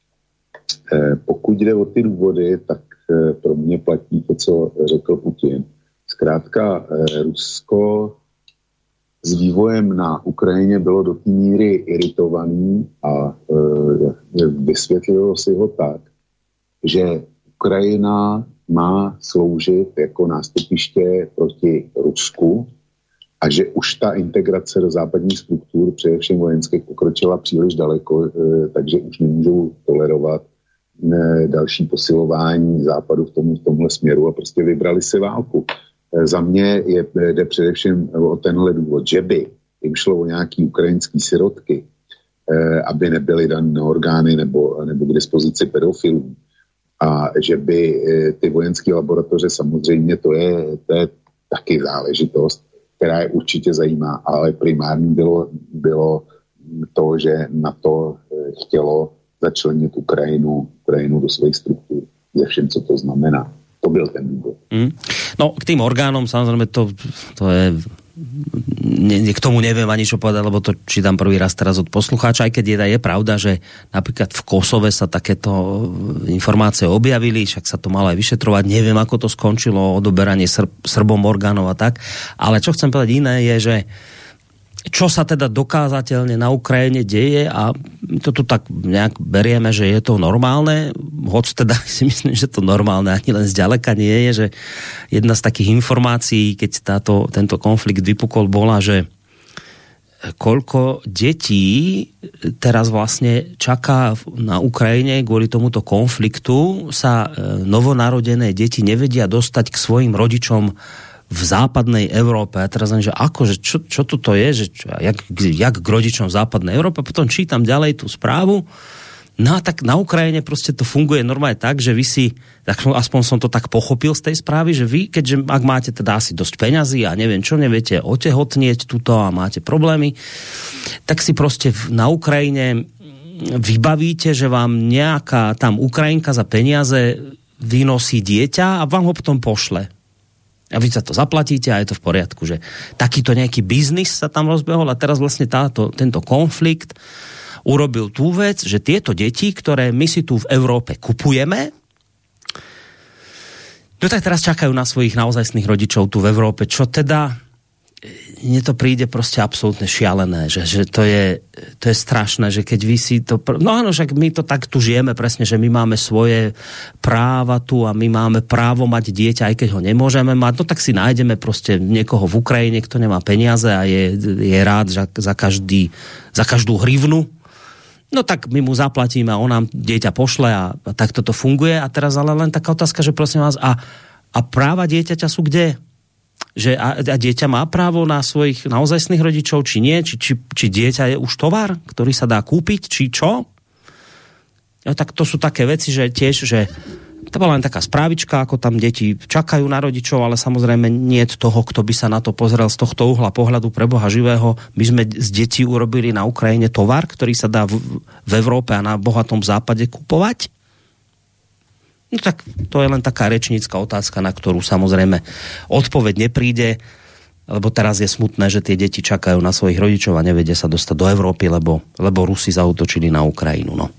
pokud jde o ty důvody, tak pro mě platí to, co řekl Putin. Zkrátka Rusko s vývojem na Ukrajině bylo do té míry iritovaný a vysvětlilo si ho tak, že Ukrajina má sloužit jako nástupiště proti Rusku a že už ta integrace do západních struktur, především vojenských, pokročila příliš daleko, takže už nemůžou tolerovat další posilování západu v tomhle směru a prostě vybrali si válku. Za mě jde především o tenhle důvod, že by jim šlo o nějaký ukrajinský sirotky, aby nebyly dané orgány nebo k dispozici pedofilů a že by ty vojenské laboratoře, samozřejmě to je taky záležitost, která je určitě zajímá, ale primární bylo to, že NATO chtělo začlenit Ukrajinu do svých struktur. Ze všem, co to znamená. To byl ten důvod. No, k tým orgánom, samozrejme, to je... K tomu neviem ani čo povedať, lebo to čítam prvý raz teraz od poslucháča, aj keď je pravda, že napríklad v Kosove sa takéto informácie objavili, však sa to malo aj vyšetrovať, neviem, ako to skončilo, odoberanie Srbom orgánov a tak, ale čo chcem povedať iné je, že čo sa teda dokázateľne na Ukrajine deje a to tu tak nejak berieme, že je to normálne, hoď teda si myslím, že to normálne ani len zďaleka nie je, že jedna z takých informácií, keď tento konflikt vypukol, bola, že koľko detí teraz vlastne čaká na Ukrajine kvôli tomuto konfliktu, sa novonarodené deti nevedia dostať k svojim rodičom v západnej Európe. A teraz že akože, čo toto je, že jak k rodičom v západnej Európe, potom čítam ďalej tú správu, no a tak na Ukrajine proste to funguje normálne tak, že vy si, aspoň som to tak pochopil z tej správy, že vy, keďže ak máte teda asi dosť peňazí a neviem čo, neviete otehotnieť tuto a máte problémy, tak si proste na Ukrajine vybavíte, že vám nejaká tam Ukrajinka za peniaze vynosí dieťa a vám ho potom pošle. A vy sa to zaplatíte a je to v poriadku, že takýto nejaký biznis sa tam rozbehol a teraz vlastne tento konflikt urobil tú vec, že tieto deti, ktoré my si tu v Európe kupujeme, No tak teraz čakajú na svojich naozajstných rodičov tu v Európe, čo teda mne to príde proste absolútne šialené, že to je strašné, že keď vy si to... No áno, však my to tak tu žijeme presne, že my máme svoje práva tu a my máme právo mať dieťa, aj keď ho nemôžeme mať, no tak si nájdeme proste niekoho v Ukrajine, kto nemá peniaze a je rád za každú hrivnu. No tak my mu zaplatíme a on nám dieťa pošle a takto to funguje. A teraz ale len taká otázka, že prosím vás, a práva dieťaťa sú kde? Že a dieťa má právo na svojich naozajstných rodičov, či nie? Či dieťa je už tovar, ktorý sa dá kúpiť, či čo? Ja, tak to sú také veci, že tiež, že to bola len taká správička, ako tam deti čakajú na rodičov, ale samozrejme nie je toho, kto by sa na to pozrel z tohto uhla pohľadu pre Boha živého. My sme z detí urobili na Ukrajine tovar, ktorý sa dá v Európe a na bohatom západe kupovať. No tak to je len taká rečnícka otázka, na ktorú samozrejme odpoveď nepríde, lebo teraz je smutné, že tie deti čakajú na svojich rodičov a nevedia sa dostať do Európy, lebo Rusi zaútočili na Ukrajinu. No.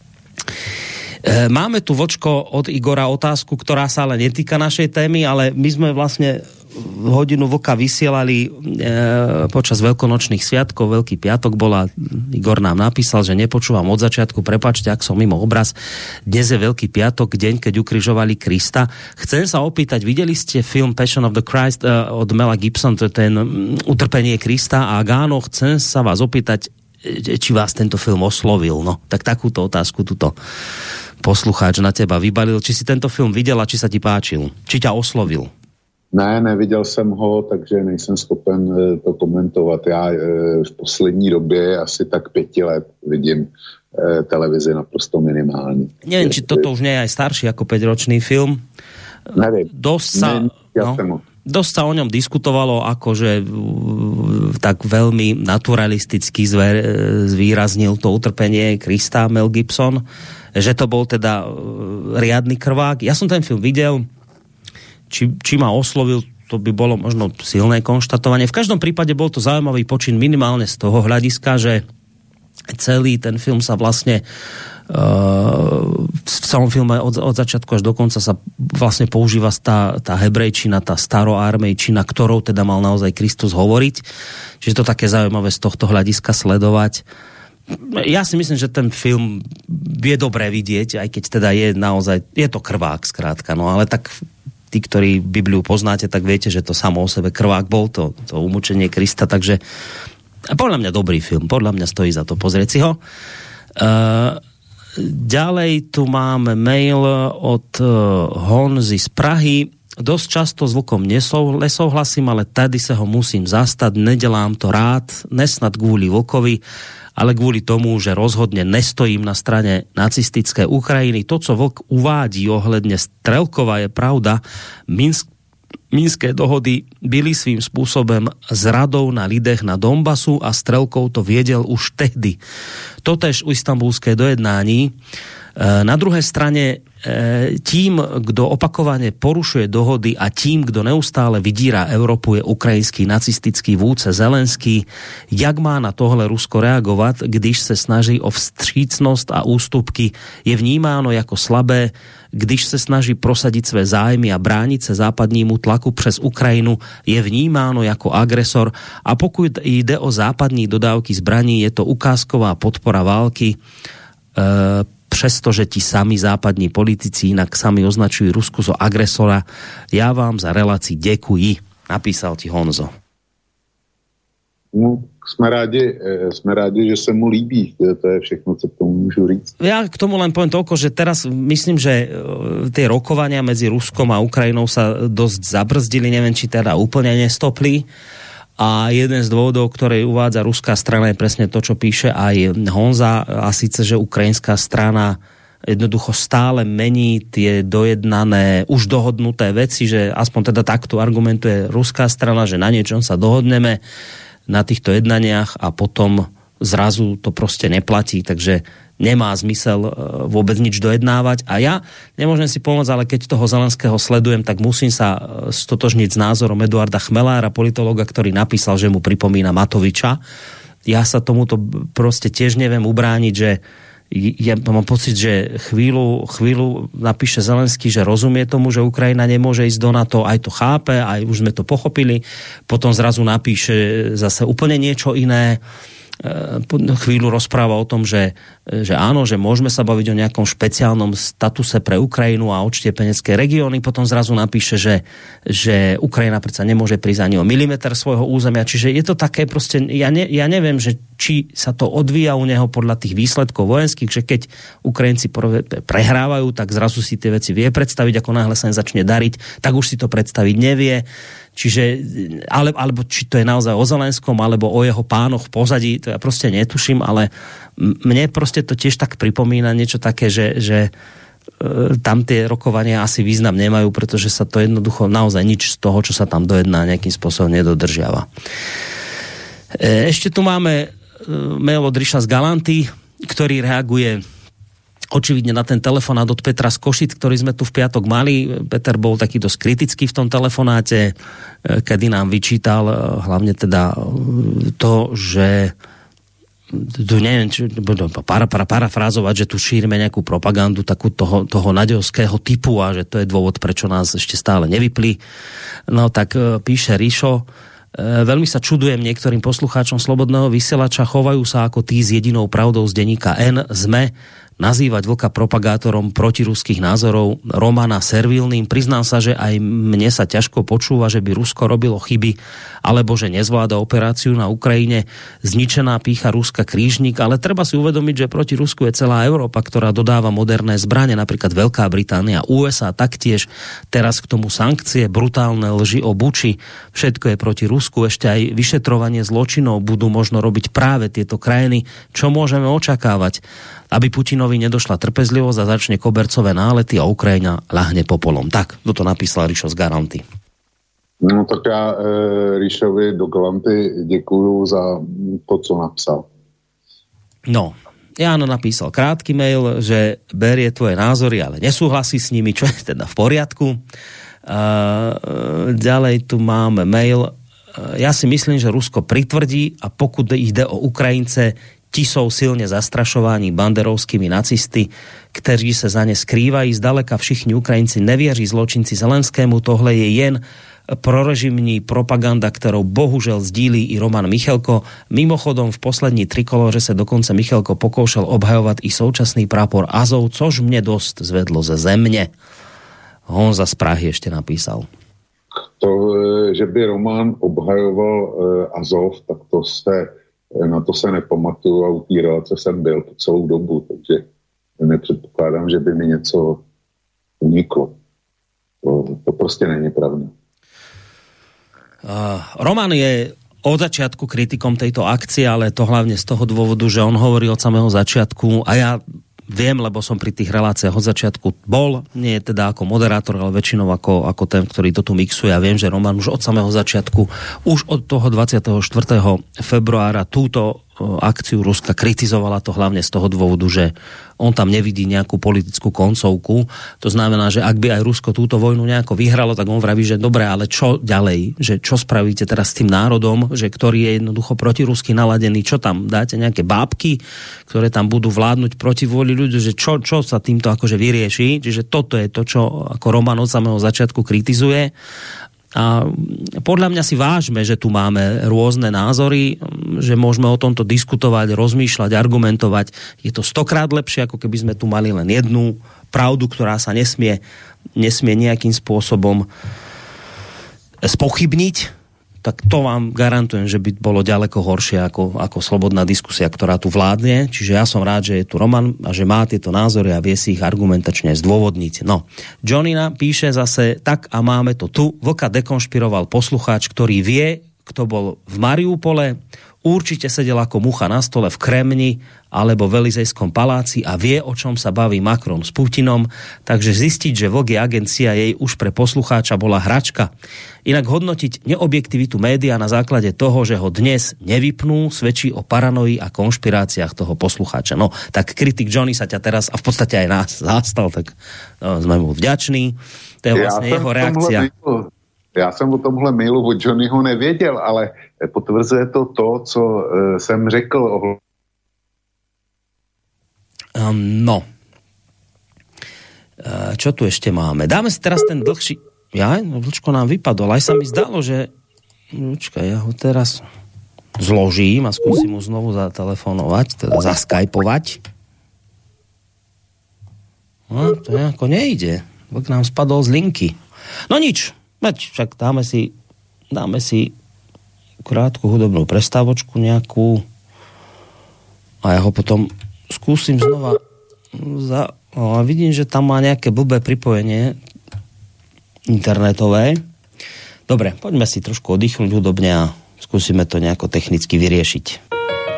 Máme tu, Vočko, od Igora otázku, ktorá sa ale netýka našej témy, ale my sme vlastne hodinu vlka vysielali počas veľkonočných sviatkov, Veľký piatok bola, Igor nám napísal, že nepočúvam od začiatku, prepáčte, ak som mimo obraz. Dnes je Veľký piatok, deň, keď ukrižovali Krista. Chcem sa opýtať, videli ste film Passion of the Christ od Mela Gibson, to je ten Utrpenie Krista, a áno, chcem sa vás opýtať, či vás tento film oslovil. No, tak takúto otázku tuto poslucháč na teba vybalil. Či si tento film videl a či sa ti páčil? Či ťa oslovil? Ne, neviděl jsem ho, takže nejsem schopen to komentovat. Já v poslední době asi tak 5 let vidím televizi naprosto minimálně. Neviem, či toto už nie je aj starší ako 5-ročný film. Neviem. Dosť sa o ňom diskutovalo, akože tak veľmi naturalisticky zvýraznil to utrpenie Krista Mel Gibson, že to bol teda riadny krvák. Ja som ten film videl, či ma oslovil, to by bolo možno silné konštatovanie. V každom prípade bol to zaujímavý počin minimálne z toho hľadiska, že celý ten film sa vlastne v celom filme od začiatku až do konca sa vlastne používa tá hebrejčina, tá staroarmejčina, ktorou teda mal naozaj Kristus hovoriť. Čiže to také zaujímavé z tohto hľadiska sledovať. Ja si myslím, že ten film je dobré vidieť, aj keď teda je naozaj, je to krvák skrátka, no ale tak tí, ktorí Bibliu poznáte, tak viete, že to samo o sebe krvák bol, to umúčenie Krista, takže podľa mňa dobrý film, podľa mňa stojí za to pozrieť si ho. Ďalej tu máme mail od Honzy z Prahy. Dosť často s vlkom nesouhlasím, ale tady sa ho musím zastať, nedelám to rád, nesnad kvôli vlkovi, ale kvôli tomu, že rozhodne nestojím na strane nacistické Ukrajiny. To, co vlk uvádí ohledne Strelkova, je pravda. Minské dohody byli svým spôsobom zradou na lidech na Donbasu a Strelkov to viedel už tehdy. Totež u istambulské dojednání. Na druhej strane tím, kdo opakovane porušuje dohody a tím, kdo neustále vydírá Európu, je ukrajinský nacistický vůdce Zelenský. Jak má na tohle Rusko reagovat, když se snaží o vstřícnost a ústupky? Je vnímáno jako slabé, když se snaží prosadit své zájmy a bránit se západnímu tlaku přes Ukrajinu, je vnímáno jako agresor, a pokud jde o západní dodávky zbraní, je to ukázková podpora války, přestože ti sami západní politici inak sami označujú Rusku za agresora. Ja vám za relácii ďakujem, napísal ti Honzo. No, sme rádi, že sa mu líbí. To je všechno, co k tomu môžu říct. Ja k tomu len poviem toľko, že teraz myslím, že tie rokovania medzi Ruskom a Ukrajinou sa dosť zabrzdili, neviem, či teda úplne nestopli. A jeden z dôvodov, ktoré uvádza ruská strana, je presne to, čo píše aj Honza, a síce, že ukrajinská strana jednoducho stále mení tie dojednané, už dohodnuté veci, že aspoň teda takto argumentuje ruská strana, že na niečom sa dohodneme na týchto jednaniach a potom zrazu to proste neplatí, takže nemá zmysel vôbec nič dojednávať. A ja nemôžem si pomôcť, ale keď toho Zelenského sledujem, tak musím sa stotožniť s názorom Eduarda Chmelára, politológa, ktorý napísal, že mu pripomína Matoviča. Ja sa tomuto proste tiež neviem ubrániť, že ja mám pocit, že chvíľu napíše Zelenský, že rozumie tomu, že Ukrajina nemôže ísť do NATO, aj to chápe, aj už sme to pochopili, potom zrazu napíše zase úplne niečo iné, chvíľu rozpráva o tom, že áno, že môžeme sa baviť o nejakom špeciálnom statuse pre Ukrajinu a odštiepenecké regióny, potom zrazu napíše, že Ukrajina predsa nemôže prísť ani o milimeter svojho územia, čiže je to také proste, ja neviem, že či sa to odvíja u neho podľa tých výsledkov vojenských, že keď Ukrajinci prehrávajú, tak zrazu si tie veci vie predstaviť, ako náhle sa im začne dariť, tak už si to predstaviť nevie. Čiže, alebo či to je naozaj o Zelenskom, alebo o jeho pánoch v pozadí, to ja proste netuším, ale mne proste to tiež tak pripomína niečo také, že tam tie rokovania asi význam nemajú, pretože sa to jednoducho naozaj nič z toho, čo sa tam dojedná, nejakým spôsobom nedodržiava. Ešte tu máme mail od Ríša z Galanty, ktorý reaguje očividne na ten telefonát od Petra z Košic, ktorý sme tu v piatok mali. Peter bol taký dosť kritický v tom telefonáte, kedy nám vyčítal hlavne teda to, že tu neviem, parafrázovať, že tu šírime nejakú propagandu takú toho naďovského typu a že to je dôvod, prečo nás ešte stále nevypli. No tak píše Ríšo, veľmi sa čudujem niektorým poslucháčom Slobodného vysielača, chovajú sa ako tí s jedinou pravdou z denníka N, SME, nazývať Vlka propagátorom protiruských názorov, Romana servilným. Priznám sa, že aj mne sa ťažko počúva, že by Rusko robilo chyby, alebo že nezvláda operáciu na Ukrajine. Zničená pýcha Ruska krížnik, ale treba si uvedomiť, že proti Rusku je celá Európa, ktorá dodáva moderné zbrane, napríklad Veľká Británia, USA taktiež, teraz k tomu sankcie, brutálne lži o Buči, všetko je proti Rusku, ešte aj vyšetrovanie zločinov budú možno robiť práve tieto krajiny. Čo môžeme očakávať? Aby Putinovi nedošla trpezlivosť a začne kobercové nálety a Ukrajina ľahne popolom. Tak, toto napísal Ríšo z Galanty. No tak já Ríšovi do Galanty děkuju za to, co napsal. No, Jano napísal krátky mail, že berie tvoje názory, ale nesúhlasí s nimi, čo je teda v poriadku. Ďalej tu máme mail. Ja si myslím, že Rusko pritvrdí a pokud ide o Ukrajince, ti sú silne zastrašovaní banderovskými nacisty, kteří sa za ne skrývají. Zdaleka všichni Ukrajinci nevěří zločinci Zelenskému. Tohle je jen prorežimní propaganda, ktorou bohužel sdílí i Roman Michalko. Mimochodom v poslední trikolóře se dokonce Michalko pokoušel obhajovat i současný prápor Azov, což mne dosť zvedlo ze země. Honza z Prahy ešte napísal. To, že by Roman obhajoval Azov, tak to na to se nepamatuju a upíral, co jsem byl po celou dobu, takže nepředpokládám, že by mi něco uniklo. To prostě není pravda. Roman je od začiatku kritikom tejto akcie, ale to hlavne z toho dôvodu, že on hovorí od samého začiatku a ja viem, lebo som pri tých reláciách od začiatku bol, nie je teda ako moderátor, ale väčšinou ako ten, ktorý to tu mixuje. Ja viem, že Roman už od samého začiatku, už od toho 24. februára túto akciu Ruska kritizovala, to hlavne z toho dôvodu, že on tam nevidí nejakú politickú koncovku. To znamená, že ak by aj Rusko túto vojnu nejako vyhralo, tak on vraví, že dobre, ale čo ďalej? Že čo spravíte teraz s tým národom, že ktorý je jednoducho protirusky naladený? Čo tam? Dáte nejaké bábky, ktoré tam budú vládnuť proti vôli ľudí? Že čo sa týmto akože vyrieši? Čiže toto je to, čo ako Roman od samého začiatku kritizuje. A podľa mňa si vážme, že tu máme rôzne názory, že môžeme o tomto diskutovať, rozmýšľať, argumentovať. Je to 100-krát lepšie, ako keby sme tu mali len jednu pravdu, ktorá sa nesmie nejakým spôsobom spochybniť. Tak to vám garantujem, že by bolo ďaleko horšie ako slobodná diskusia, ktorá tu vládne. Čiže ja som rád, že je tu Roman a že má tieto názory a vie si ich argumentačne zdôvodniť. No, Johnina píše zase, tak a máme to tu. Vlka dekonšpiroval poslucháč, ktorý vie, kto bol v Mariupole, určite sedel ako mucha na stole v Kremni alebo v Elizejskom paláci a vie, o čom sa baví Macron s Putinom, takže zistiť, že Vlk je agencia jej už pre poslucháča bola hračka. Inak hodnotiť neobjektivitu média na základe toho, že ho dnes nevypnú, svedčí o paranoji a konšpiráciách toho poslucháča. No, tak kritik Johnny sa ťa teraz a v podstate aj nás zastal, tak sme mu vďační. To je vlastne jeho reakcia. Já jsem o tomhle mailu od Johnnyho nevěděl, ale potvrzuje to, co jsem řekl. No. Čo tu ešte máme? Dáme si teraz ten dlhší... Vlčko nám vypadol. Aj sa mi zdalo, že... Počkaj, ja ho teraz zložím a skúsim mu znovu zatelefonovať, teda zaskypovať. No, to nejako nejde. Vlk nám spadol z linky. No nič. Však dáme si krátku hudobnú prestávočku nejakú a ja ho potom skúsim znova a vidím, že tam má nejaké blbé pripojenie internetové. Dobre, poďme si trošku oddychnúť hudobne a skúsime to nejako technicky vyriešiť.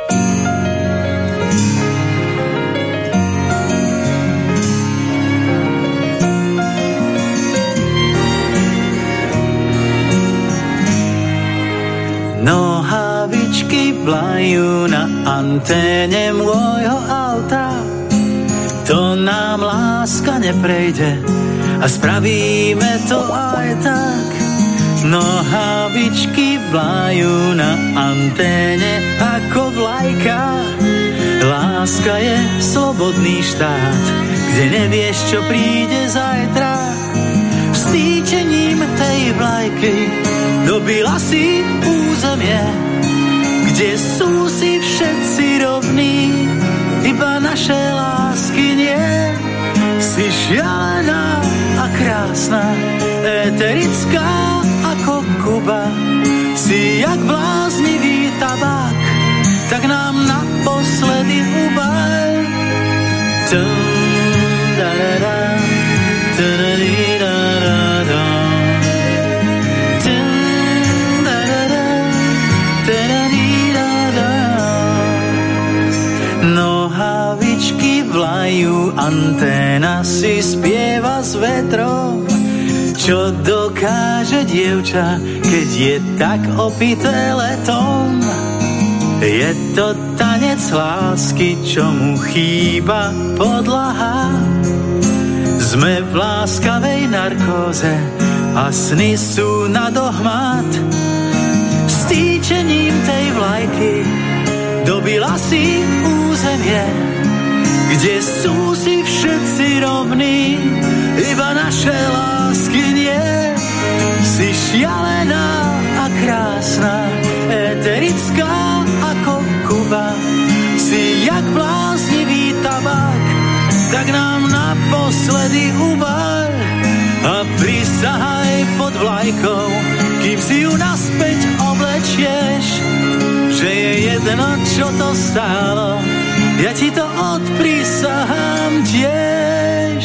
Nohavičky vlajú na anténe môjho auta. To nám láska neprejde a spravíme to aj tak. Nohavičky vlajú na anténe ako vlajka. Láska je slobodný štát, kde nevieš, čo príde zajtra. Vstýčením tej vlajky dobila si územie, kde sú si všetci rovní, iba naše lásky nie. Si šialená a krásna, eterická ako Kuba. Si jak bláznivý tabák, tak nám naposledy ubaj. Nohavičky vlajú, anténa si spieva s vetrom. Čo dokáže dievča, keď je tak opité letom? Je to tanec lásky, čo mu chýba podlaha. Sme v láskavej narkóze a sny sú na dohmat. Stýčením tej vlajky dobila si územie, kde sú si všetci rovní, iba naše lásky nie. Si šialená a krásna, eterická ako Kuba. Si jak bláznivý tabák, tak nám naposledy ubaj. A prisahaj pod vlajkou, kým si ju naspäť oblečieš, že je jedno, čo to stálo, ja ti to odprisahám tiež.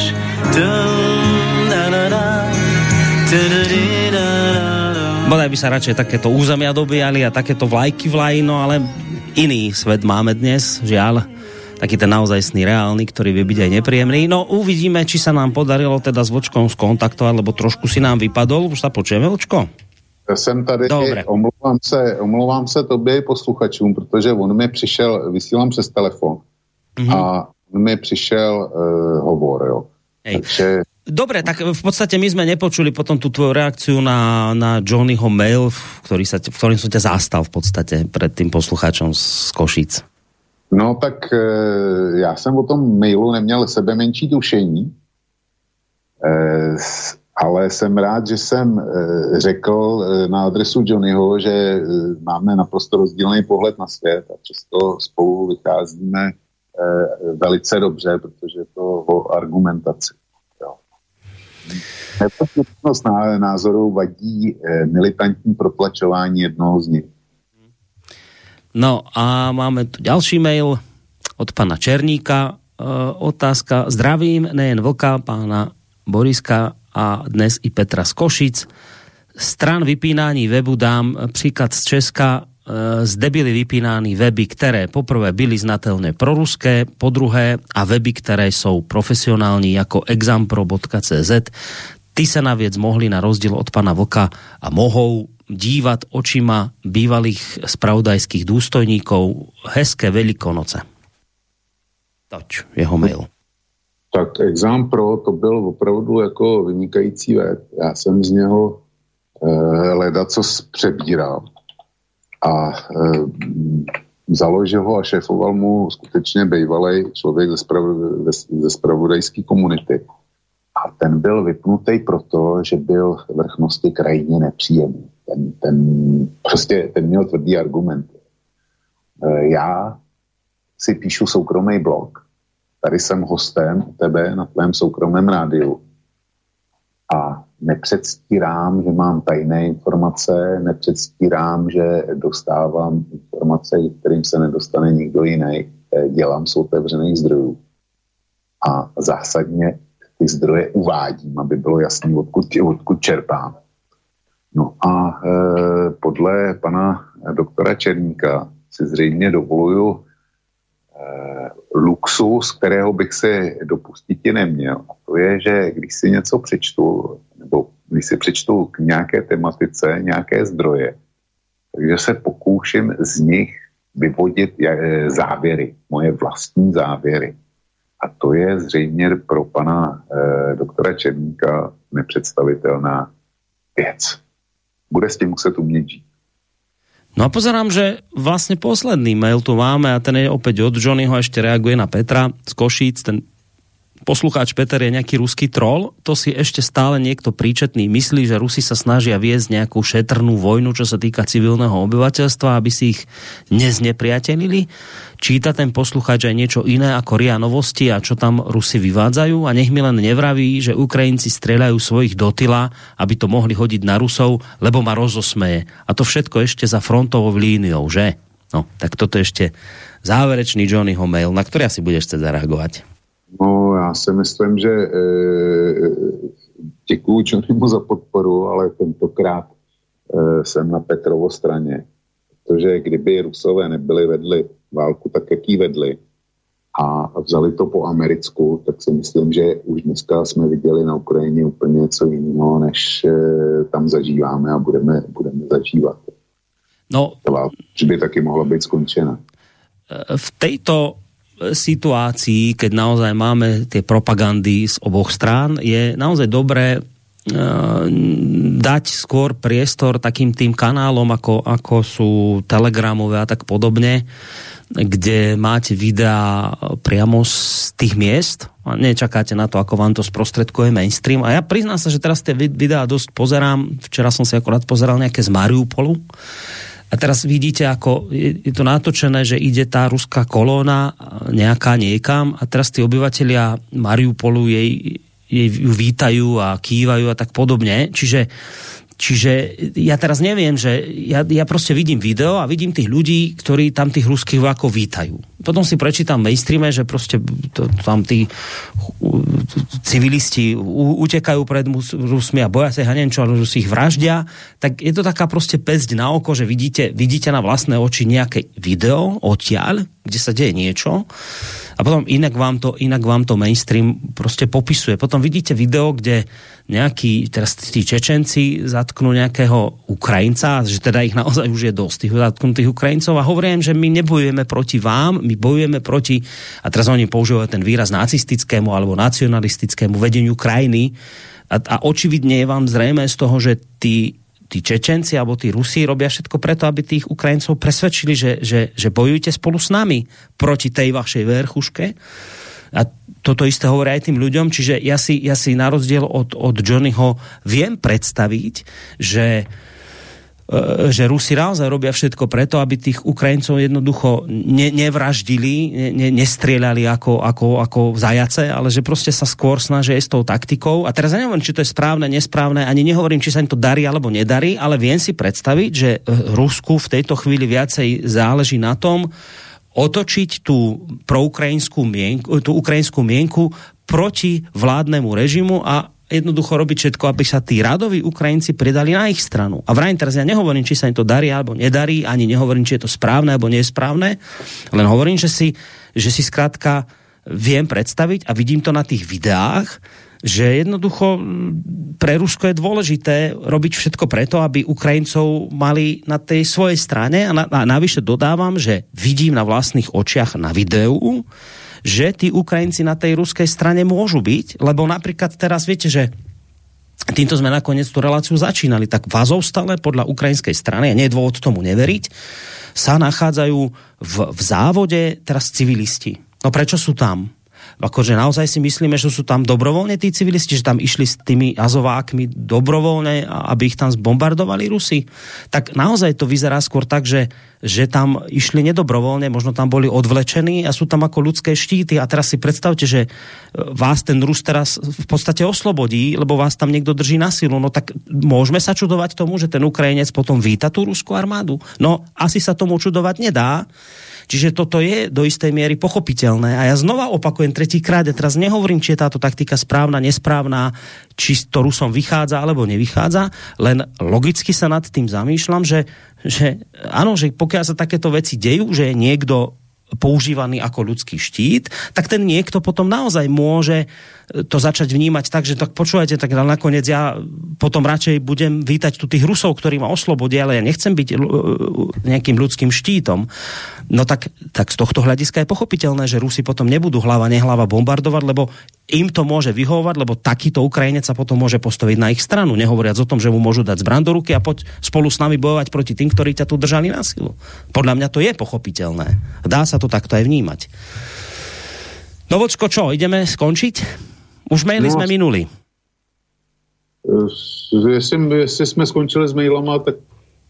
Bodaj by sa radšej takéto územia dobíjali a takéto vlajky vlají, no ale iný svet máme dnes, žiaľ. Taký ten naozajstný reálny, ktorý vie byť aj nepríjemný. No uvidíme, či sa nám podarilo teda s Vlčkom skontaktovať, lebo trošku si nám vypadol. Už sa počujeme, Vlčko? Já jsem tady, omlouvám se tobě i posluchačům, protože on mi přišel, vysílám přes telefon, a on mi přišel hovor, jo. Takže... Dobre, tak v podstate my sme nepočuli potom tú tvoju reakciu na Johnnyho mail, v ktorým som ťa zastal v podstate pred tým poslucháčom z Košíc. No tak já jsem o tom mailu neměl sebe menší tušení, ale jsem rád, že jsem řekl na adresu Johnnyho, že máme naprosto rozdílný pohled na svět a přesto spolu vycházíme velice dobře, protože to o argumentaci. Nepochybnost názorů vadí militantní protlačování jednoho z nich. No a máme tu ďalší mail od pána Černíka. Otázka. Zdravím nejen Vlka, pána Boriska a dnes i Petra z Košic. Stran vypínání webu dám příklad z Česka. Zde byly vypínány weby, které poprvé byly znatelně proruské, podruhé a weby, které jsou profesionální jako exampro.cz. Ty se naviec mohli na rozdíl od pana Vlka a mohou dívať očima bývalých spravodajských důstojníkov. Hezké Velikonoce. Toč, jeho mail. Tak Exampro to byl opravdu jako vynikající web. Já jsem z něho ledacos přebíral. A založil ho a šéfoval mu skutečně bývalý člověk ze spravodajské komunity. A ten byl vypnutý proto, že byl vrchnosti krajně nepříjemný. Ten měl tvrdý argumenty. Já si píšu soukromý blog. Tady jsem hostem u tebe na tvém soukromém rádiu. A nepředstírám, že mám tajné informace, nepředstírám, že dostávám informace, kterým se nedostane nikdo jiný. Dělám z otevřených zdrojů. A zásadně ty zdroje uvádím, aby bylo jasné, odkud čerpám. No a podle pana doktora Černíka si zřejmě dovoluju luxus, kterého bych se dopustit neměl. A to je, že když si něco přečtu, nebo když si přečtu k nějaké tematice, nějaké zdroje, takže se pokouším z nich vyvodit závěry, moje vlastní závěry. A to je zřejmě pro pana doktora Černíka nepředstavitelná věc. Bude s tím muset umět žít. No a pozerám, že vlastne posledný mail tu máme a ten je opäť od Johnnyho, ešte reaguje na Petra z Košíc. Ten poslucháč Peter je nejaký ruský troll, to si ešte stále niekto príčetný myslí, že Rusi sa snažia viesť nejakú šetrnú vojnu, čo sa týka civilného obyvateľstva, aby si ich neznepriatelili. Číta ten poslucháč aj niečo iné ako RIA Novosti a čo tam Rusi vyvádzajú a nech mi len nevraví, že Ukrajinci strieľajú svojich do tyla, aby to mohli hodiť na Rusov, lebo ma rozosmeje. A to všetko ešte za frontovou líniou, že? No, tak toto ešte záverečný Johnnyho mail, na ktorý asi budeš chcieť zareagovať. No, já si myslím, že děkuju Johnnymu za podporu, ale tentokrát jsem na Petrovo straně. Protože kdyby Rusové vedli válku tak, jak ji vedli a vzali to po americku, tak si myslím, že už dneska jsme viděli na Ukrajině úplně něco jiného, než tam zažíváme a budeme zažívat. No, že by taky mohla být skončena. V tejto situácii, keď naozaj máme tie propagandy z oboch strán, je naozaj dobré dať skôr priestor takým tým kanálom, ako sú telegramové a tak podobne, kde máte videá priamo z tých miest a nečakáte na to, ako vám to sprostredkuje mainstream. A ja priznám sa, že teraz tie videá dosť pozerám. Včera som si akorát pozeral nejaké z Mariupolu. A teraz vidíte, ako je to natočené, že ide tá ruská kolóna nejaká niekam a teraz tí obyvatelia Mariupolu jej ju vítajú a kývajú a tak podobne. Čiže ja teraz neviem, že ja proste vidím video a vidím tých ľudí, ktorí tam tých ruských vojakov vítajú. Potom si prečítam v mainstreame, že proste tam tí civilisti utekajú pred Rusmi a boja sa ich a neviem čo, ale Rusi ich vraždia. Tak je to taká proste päsť na oko, že vidíte na vlastné oči nejaké video odtiaľ, kde sa deje niečo a potom inak vám to mainstream proste popisuje. Potom vidíte video, kde nejakí, teraz tí Čečenci zatknú nejakého Ukrajinca, že teda ich naozaj už je dosť tých zatknutých Ukrajincov a hovorím, že my nebojujeme proti vám, my bojujeme proti, a teraz oni používajú ten výraz nacistickému alebo nacionalistickému vedeniu krajiny a očividne je vám zrejme z toho, že tí Čečenci alebo tí Rusi robia všetko preto, aby tých Ukrajincov presvedčili, že bojujete spolu s nami proti tej vašej verchuške. A toto isté hovorí aj tým ľuďom, čiže ja si na rozdiel od Johnnyho viem predstaviť, že Rusi naozaj robia všetko preto, aby tých Ukrajincov jednoducho nevraždili, nestrieľali ako zajace, ale že proste sa skôr snažia s tou taktikou. A teraz ja neviem, či to je správne, nesprávne, ani nehovorím, či sa im to darí alebo nedarí, ale viem si predstaviť, že Rusku v tejto chvíli viacej záleží na tom, otočiť tú ukrajinskú mienku proti vládnemu režimu a jednoducho robiť všetko, aby sa tí radoví Ukrajinci pridali na ich stranu. A vrajím teraz, ja nehovorím, či sa im to darí alebo nedarí, ani nehovorím, či je to správne alebo nesprávne, len hovorím, že si skrátka viem predstaviť a vidím to na tých videách, že jednoducho pre Rusko je dôležité robiť všetko preto, aby Ukrajincov mali na tej svojej strane a navyše dodávam, že vidím na vlastných očiach na videu, že tí Ukrajinci na tej ruskej strane môžu byť, lebo napríklad teraz viete, že týmto sme nakoniec tú reláciu začínali, tak v Azovstale podľa ukrajinskej strany, a nie je dôvod tomu neveriť, sa nachádzajú v závode teraz civilisti. No prečo sú tam? Akože naozaj si myslíme, že sú tam dobrovoľne tí civilisti, že tam išli s tými Azovákmi dobrovoľne, aby ich tam zbombardovali Rusi? Tak naozaj to vyzerá skôr tak, že tam išli nedobrovoľne, možno tam boli odvlečení a sú tam ako ľudské štíty. A teraz si predstavte, že vás ten Rus teraz v podstate oslobodí, lebo vás tam niekto drží na silu. No tak môžeme sa čudovať tomu, že ten Ukrajinec potom víta tú ruskú armádu? No asi sa tomu čudovať nedá. Čiže toto je do istej miery pochopiteľné. A ja znova opakujem tretíkrát, ja teraz nehovorím, či je táto taktika správna, nesprávna, či to Rusom vychádza alebo nevychádza, len logicky sa nad tým zamýšľam, že áno, že pokiaľ sa takéto veci dejú, že je niekto používaný ako ľudský štít, tak ten niekto potom naozaj môže to začať vnímať tak, že tak počúvajte, tak nakoniec ja potom radšej budem vítať tu tých Rusov, ktorí ma oslobodia, ale ja nechcem byť nejakým ľudským štítom. No tak z tohto hľadiska je pochopiteľné, že Rusi potom nebudú hlava nehlava bombardovať, lebo im to môže vyhovovať, lebo takýto Ukrajinec sa potom môže postaviť na ich stranu, nehovoriac o tom, že mu môžu dať zbraň do ruky a poď spolu s nami bojovať proti tým, ktorí ťa tu držali na silu. Podľa mňa to je pochopiteľné. Dá sa to takto aj vnímať. No Vočko, čo, ideme skončiť? Už maily sme minuli. Jestli sme skončili s mailama, tak...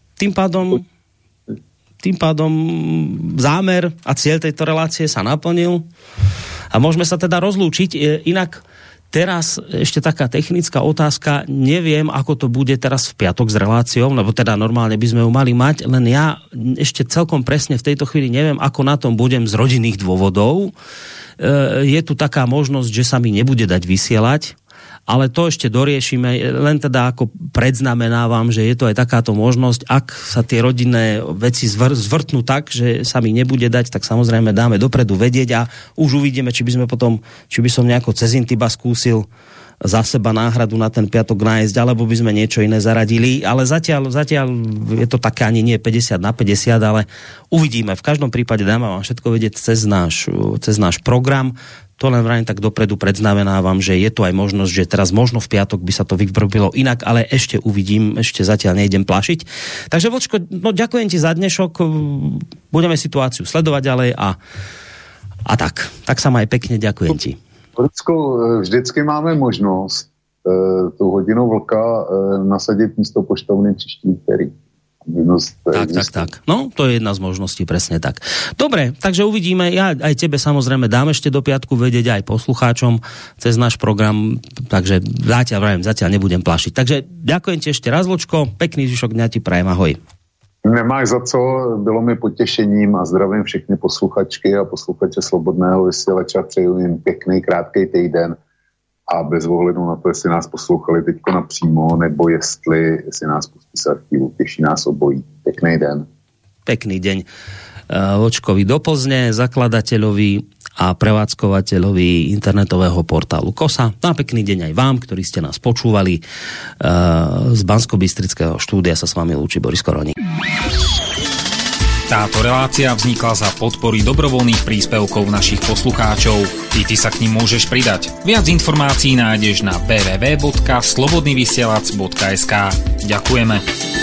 Tým pádom zámer a cieľ tejto relácie sa naplnil a môžeme sa teda rozlúčiť. Inak teraz ešte taká technická otázka. Neviem, ako to bude teraz v piatok s reláciou, lebo teda normálne by sme ju mali mať, len ja ešte celkom presne v tejto chvíli neviem, ako na tom budem z rodinných dôvodov. Je tu taká možnosť, že sa mi nebude dať vysielať, ale to ešte doriešime, len teda ako predznamenávam, že je to aj takáto možnosť, ak sa tie rodinné veci zvrtnú tak, že sa mi nebude dať, tak samozrejme dáme dopredu vedieť a už uvidíme, či by som nejako cez Intiba skúsil za seba náhradu na ten piatok nájsť, alebo by sme niečo iné zaradili, ale zatiaľ je to také ani nie 50/50, ale uvidíme. V každom prípade dáme vám všetko vedieť cez náš program. To len vrajím tak dopredu predznamenávam, že je tu aj možnosť, že teraz možno v piatok by sa to vybrobilo inak, ale ešte uvidím, ešte zatiaľ nejdem plašiť. Takže Vočko, no ďakujem ti za dnešok, budeme situáciu sledovať ďalej a tak sa maj pekne, ďakujem ti. Vždycky máme možnost tu hodinu vlka nasadit místo poštovny příští úterý. Tak. No, to je jedna z možností, presne tak. Dobre, takže uvidíme. Ja aj tebe samozrejme dám ešte do piatku vedieť aj poslucháčom cez náš program, takže zatiaľ nebudem plašiť. Takže ďakujem ti ešte raz, Vočko, pekný zvyšok dňa ti prajem, ahoj. Nemáš za co, bylo mi potěšením a zdravím všechny posluchačky a posluchače Slobodného vysílača, přeju jim pěkný, krátkej týden a bez ohledu na to, jestli nás poslouchali teďko napřímo, nebo jestli nás pustí z archívu, těší nás obojí. Pěkný den. Pekný deň Vočkovi do Plzne, zakladateľovi a prevádzkovateľovi internetového portálu KOSA. A pekný deň aj vám, ktorí ste nás počúvali. Z Banskobystrického štúdia sa s vami lúči Boris Koroni. Táto relácia vznikla za podpory dobrovoľných príspevkov našich poslucháčov. Ty sa k nim môžeš pridať. Viac informácií nájdeš na www.slobodnyvysielac.sk. Ďakujeme.